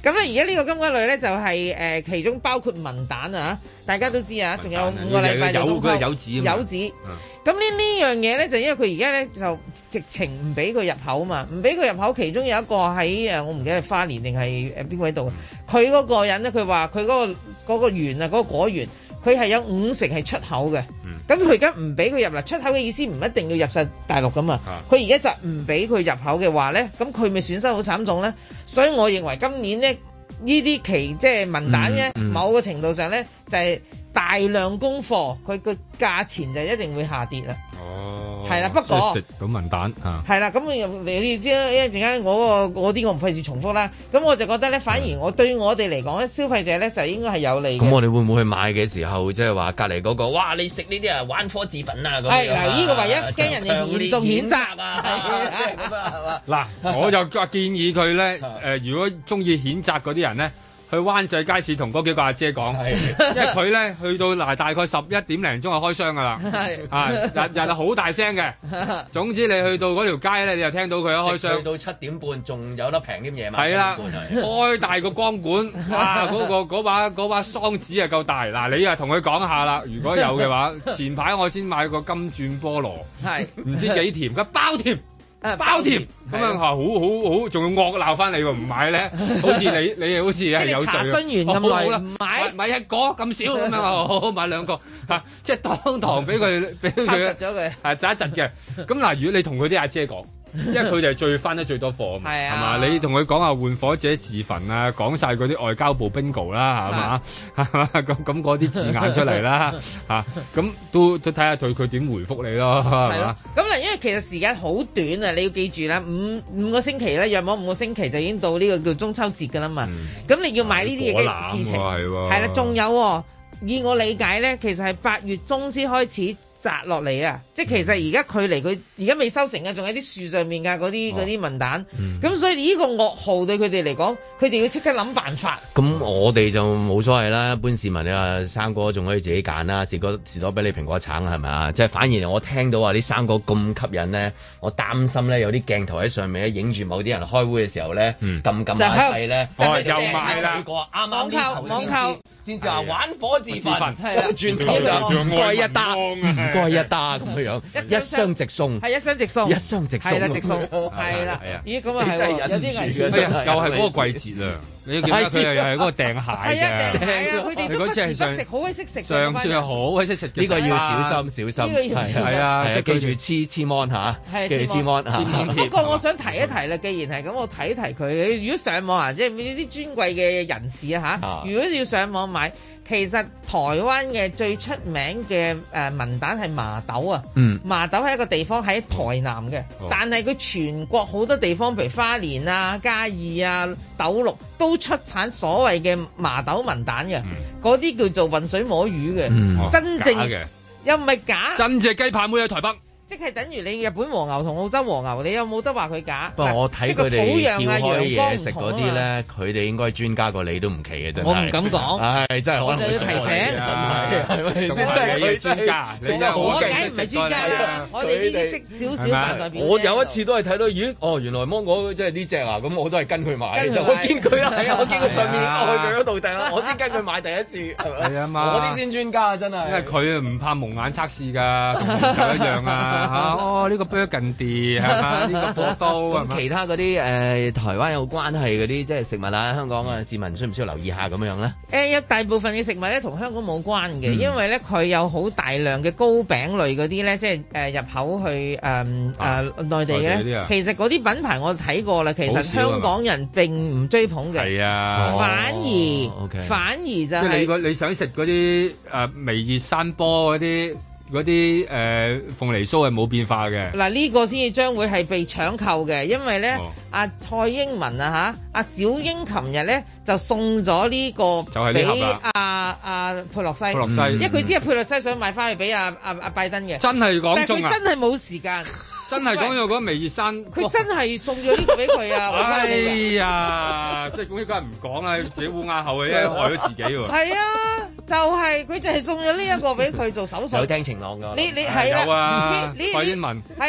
咁咧而家呢個金龜類咧就係其中包括文蛋啊，大家都知啊，仲有5個禮拜就中秋柚子。 咁呢樣嘢咧就因為佢而家咧就直情唔俾佢入口啊嘛，唔俾佢入口，其中有一個喺我唔記得係花蓮定係邊個喺度，佢嗰個人咧佢話佢嗰個園啊嗰個果園，佢係有50%係出口嘅。咁佢而家唔俾佢入嚟，出口嘅意思唔一定要入晒大陸噶嘛。佢而家就唔俾佢入口嘅話咧，咁佢咪損失好慘重咧。所以我認為今年咧呢啲期即係文蛋咧，某個程度上咧就係大量供貨，佢個價錢就一定會下跌啦。哦，係啦，不過食到文蛋嚇， 係啦，咁你知啦，一陣間嗰啲我唔費事重複啦。咁我就覺得咧，反而我對我哋嚟講咧，消費者咧就應該係有利嘅。 咁我哋會唔會去買嘅時候，即係話隔離嗰個，哇！你食呢啲啊，玩火自焚啊咁樣。 係嗱，呢個唯一驚人哋嚴重譴責啊， 係嘛？ 嗱，我就建議佢咧，如果中意譴責嗰啲人咧。去灣仔街市同嗰幾個阿姐講，因為佢咧去到大概11點零鐘就開箱噶啦，日係好大聲嘅。總之你去到嗰條街咧，你就聽到佢一開箱。去到7點半仲有得平啲夜晚。係啦，開大個光管，哇！嗰把桑子啊夠大。嗱，你啊同佢講下啦，如果有嘅話，前排我先買個金鑽菠蘿，係唔知幾甜，佢包甜。包甜咁樣好，仲要惡鬧翻你喎！唔買咧，好似你好似係有罪。 查詢完咁耐唔買一個咁少咁樣，好買2個嚇，即係當堂俾佢窒咗佢， 係窒一窒嘅。咁嗱，如果你同佢啲阿姐講。因為佢哋係最翻得最多貨啊嘛，係嘛？你同佢講下換火者自焚啊，講晒嗰啲外交部 bingo 啦，係嘛？係嘛？咁嗰啲字眼出嚟啦，嚇咁都睇下佢點回覆你咯，係嘛？ 咁嗱，因為其實時間好短啊，你要記住啦，五個星期咧，約莫5個星期就已經到呢個叫中秋節㗎啦嘛。咁你要買呢啲嘢嘅事情係啦，仲有以我理解咧，其實係8月中先開始摘落嚟啊！即係其實而家距離佢而家未收成啊，仲喺啲樹上面㗎嗰啲文蛋。咁所以呢個噩耗對佢哋嚟講，佢哋要即刻諗辦法。 咁我哋就冇所謂啦，一般市民你話生果仲可以自己揀啦，士多啤梨蘋果橙係咪啊？即係反而我聽到話啲生果咁吸引咧，我擔心咧有啲鏡頭喺上面咧影住某啲人開會嘅時候咧，撳下掣咧， 又賣啦，啱啱網購先至話玩火自焚，係啦，轉頭就唔該一打，唔該一打咁樣，一箱直送， 係一箱直送， 一箱直送， 係啦直送，係啦，咦咁啊係有啲危險， 又係嗰個季節啊！你記得佢又係嗰個訂蟹嘅， 係啊，佢哋都不時不食，好鬼識食。 上次係好鬼識食， 呢個要小心小心，係啊，記住黐 mon 嚇，記住黐 mon。 不過我想提一提啦，既然係咁，我提一提佢。如果上網啊，即係呢啲尊貴嘅人士啊嚇，如果要上網買。其實台灣嘅最出名嘅文蛋係麻豆啊，麻豆係一個地方喺台南嘅，但係佢全國好多地方，譬如花蓮啊、嘉義啊、斗六都出產所謂嘅麻豆文蛋嘅，嗰啲叫做渾水摸魚嘅，真正又唔係假， 真隻雞排妹喺台北。 即係等於你日本和牛同澳洲和牛，你有冇得話佢假？ 不過我睇佢哋叫開嘢食嗰啲咧，佢哋應該專家過你都唔奇嘅，真係。我唔敢講，係真係可能會提醒，真係係咪？真係佢專家，你真係我梗唔係專家啦，我哋呢啲識少少大代表。我有一次都係睇到，咦？原來芒果即係呢隻啊，咁我都係跟佢買。我見佢係啊，我見佢上面我去佢嗰度訂啦，我先跟佢買第一次，係咪？係啊嘛，我啲先專家真係。因為佢唔怕蒙眼測試㗎，同紅酒一樣啊。呢個 Burgundy 係嘛？呢個波多咁其他嗰啲台灣有關係嗰啲即係食物啊，香港嘅市民需唔需要留意下咁樣咧？ 有大部分嘅食物咧同香港冇關嘅，因為咧佢有好大量嘅糕餅類嗰啲咧，即係入口去內地嘅咧。其實嗰啲品牌我睇過啦，其實香港人並唔追捧嘅。係啊，反而就係即係你想食嗰啲微熱山波嗰啲鳳梨酥係冇變化嘅。 嗱，呢個先至將會係被搶購嘅，因為咧阿蔡英文啊阿小英琴日咧就送咗呢個俾阿佩洛西，因為佢知阿佩洛西想買翻去俾阿拜登嘅， 真係講中啊！ 但係佢真係冇時間。 真係講到嗰微熱山， 佢真係送咗呢個俾佢啊！ 哎呀，即係咁應該唔講啦，自己烏鴉口嘅，因為害咗自己喎。係啊，就係佢就係送咗呢一個俾佢做手術。 有聽晴朗㗎， 你係啦， 蔡英文係啊，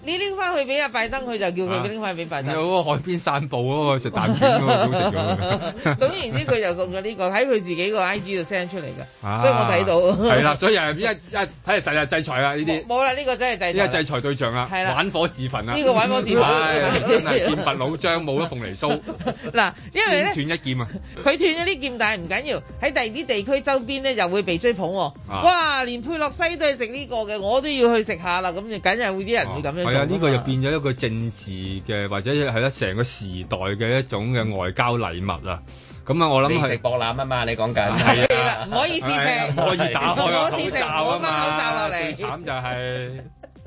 你拎翻去俾阿拜登，佢就叫佢拎翻俾拜登。 有嗰個海邊散步嗰個食蛋卷嗰個好食咗。 總言之，佢就送咗呢個喺佢自己個 IG 度 send 出嚟㗎，所以我睇到。 係啦，所以一睇嚟實日制裁啦呢啲。 冇啦，呢個真係制裁。 呢個制裁對象啦，玩火自焚啦。 呢個玩火自焚， 真係劍拔弩張，冇咗鳳梨酥。 嗱，因為咧斷一劍啊！ 佢斷咗啲劍，但係唔緊要，喺第二啲地區周邊咧又會被追捧喎。哇！連佩洛西都係食呢個嘅，我都要去食下啦。咁就梗係會啲人會咁樣做。係啊， 呢個就變咗一個政治嘅，或者係咧成個時代嘅一種嘅外交禮物啊。咁啊，我諗係食博覽啊嘛，你講緊係啦，唔可以試食， 唔可以打開個口罩啊嘛，口罩落嚟。 最慘就係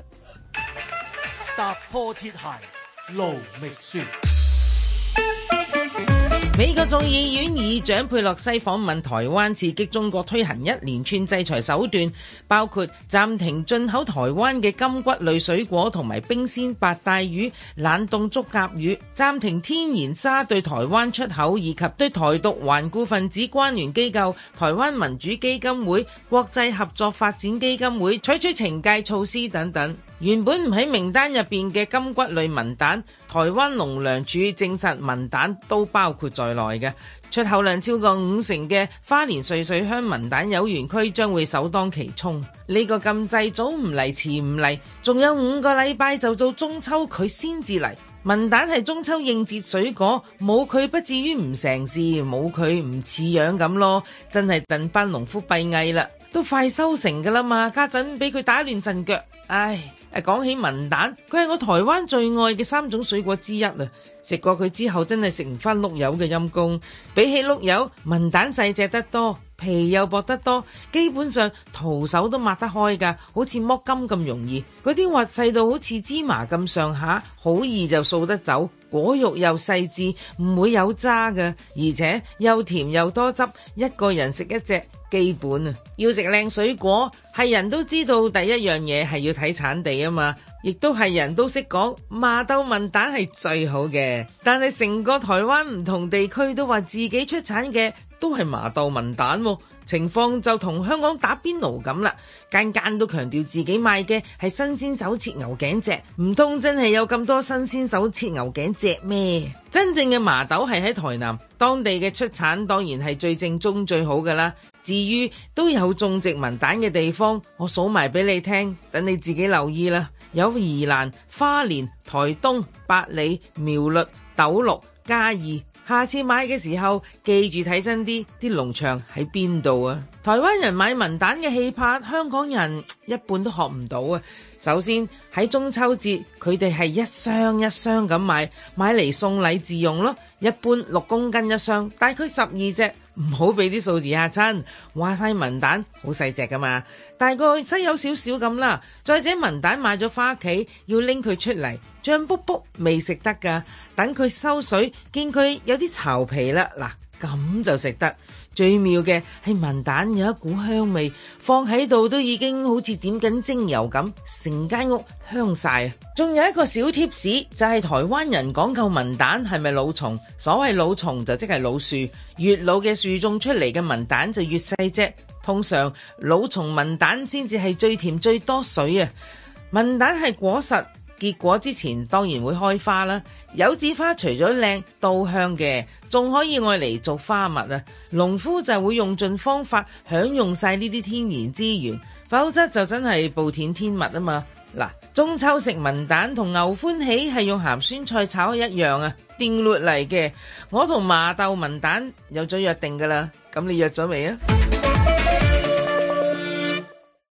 踏破鐵鞋路未雪。 美國眾議院議長佩洛西訪問台灣，刺激中國推行一連串制裁手段，包括暫停進口台灣嘅金骨類水果同埋冰鮮白帶魚、冷凍竹甲魚，暫停天然砂對台灣出口，以及對台獨頑固分子關聯機構台灣民主基金會、國際合作發展基金會採取懲戒措施等等。原本唔喺名單入邊嘅金骨類文蛋，台灣農糧署證實文蛋都包括在內嘅。出口量超過50%嘅花蓮瑞穗鄉文蛋有園區將會首當其衝。呢個禁制早唔嚟遲唔嚟，仲有5個禮拜就到中秋，佢先至嚟。文蛋係中秋應節水果，冇佢不至於唔成事，冇佢唔似樣咁咯。真係戥班農夫閉翳啦，都快收成噶啦嘛，家陣俾佢打亂陣腳，唉。講起文蛋，佢係我台灣最愛嘅3種水果之一啊！食過佢之後，真係食唔返碌柚嘅陰公。比起碌柚，文蛋細隻得多，皮又薄得多，基本上徒手都抹得開㗎，好似剝金咁容易。嗰啲核細到好似芝麻咁上下，好易就掃得走。果肉又細緻，唔會有渣㗎，而且又甜又多汁，一個人食一隻。基本啊，要食靚水果，係人都知道第一樣嘢係要睇產地啊嘛，亦都係人都識講麻豆文蛋係最好嘅。但係成個台灣唔同地區都話自己出產嘅都係麻豆文蛋喎，情況就同香港打邊爐咁啦，間間都強調自己賣嘅係新鮮手切牛頸脊，唔通真係有咁多新鮮手切牛頸脊咩？真正嘅麻豆係喺台南，當地嘅出產當然係最正宗最好㗎啦。至於都有種植文蛋嘅地方，我數埋俾你聽，等你自己留意啦。有宜蘭、花蓮、台東、八里、苗栗、斗六、嘉義。下次買嘅時候，記住睇真啲農場喺邊度啊！台灣人買文蛋嘅氣魄，香港人一半都學唔到啊！首先喺中秋節，佢哋係一箱一箱咁買嚟送禮自用咯。一般6公斤一箱，大概12隻，唔好俾啲數字嚇親。話晒文蛋好細隻噶嘛，大概西柚少少咁啦。再者文蛋買咗返屋企，要拎佢出嚟，脹卜卜未食得噶，等佢收水，見佢有啲巢皮啦，嗱咁就食得。最妙嘅係文蛋有一股香味，放喺度都已經好似點緊精油咁，成間屋香晒。仲有一個小貼士，就係台灣人講究文蛋係咪老叢，所謂老叢就即係老樹，越老嘅樹種出嚟嘅文蛋就越細隻，通常老叢文蛋先至係最甜最多水啊。文蛋係果實，結果之前當然會開花啦。柚子花除咗靚都香嘅，仲可以愛嚟做花蜜啊。農夫就會用盡方法享用晒呢啲天然資源，否則就真係暴殄天物啊嘛。嗱，中秋食文蛋同牛歡喜係用鹹酸菜炒一樣啊，定律嚟嘅。我同麻豆文蛋有咗約定噶啦，咁你約咗未啊？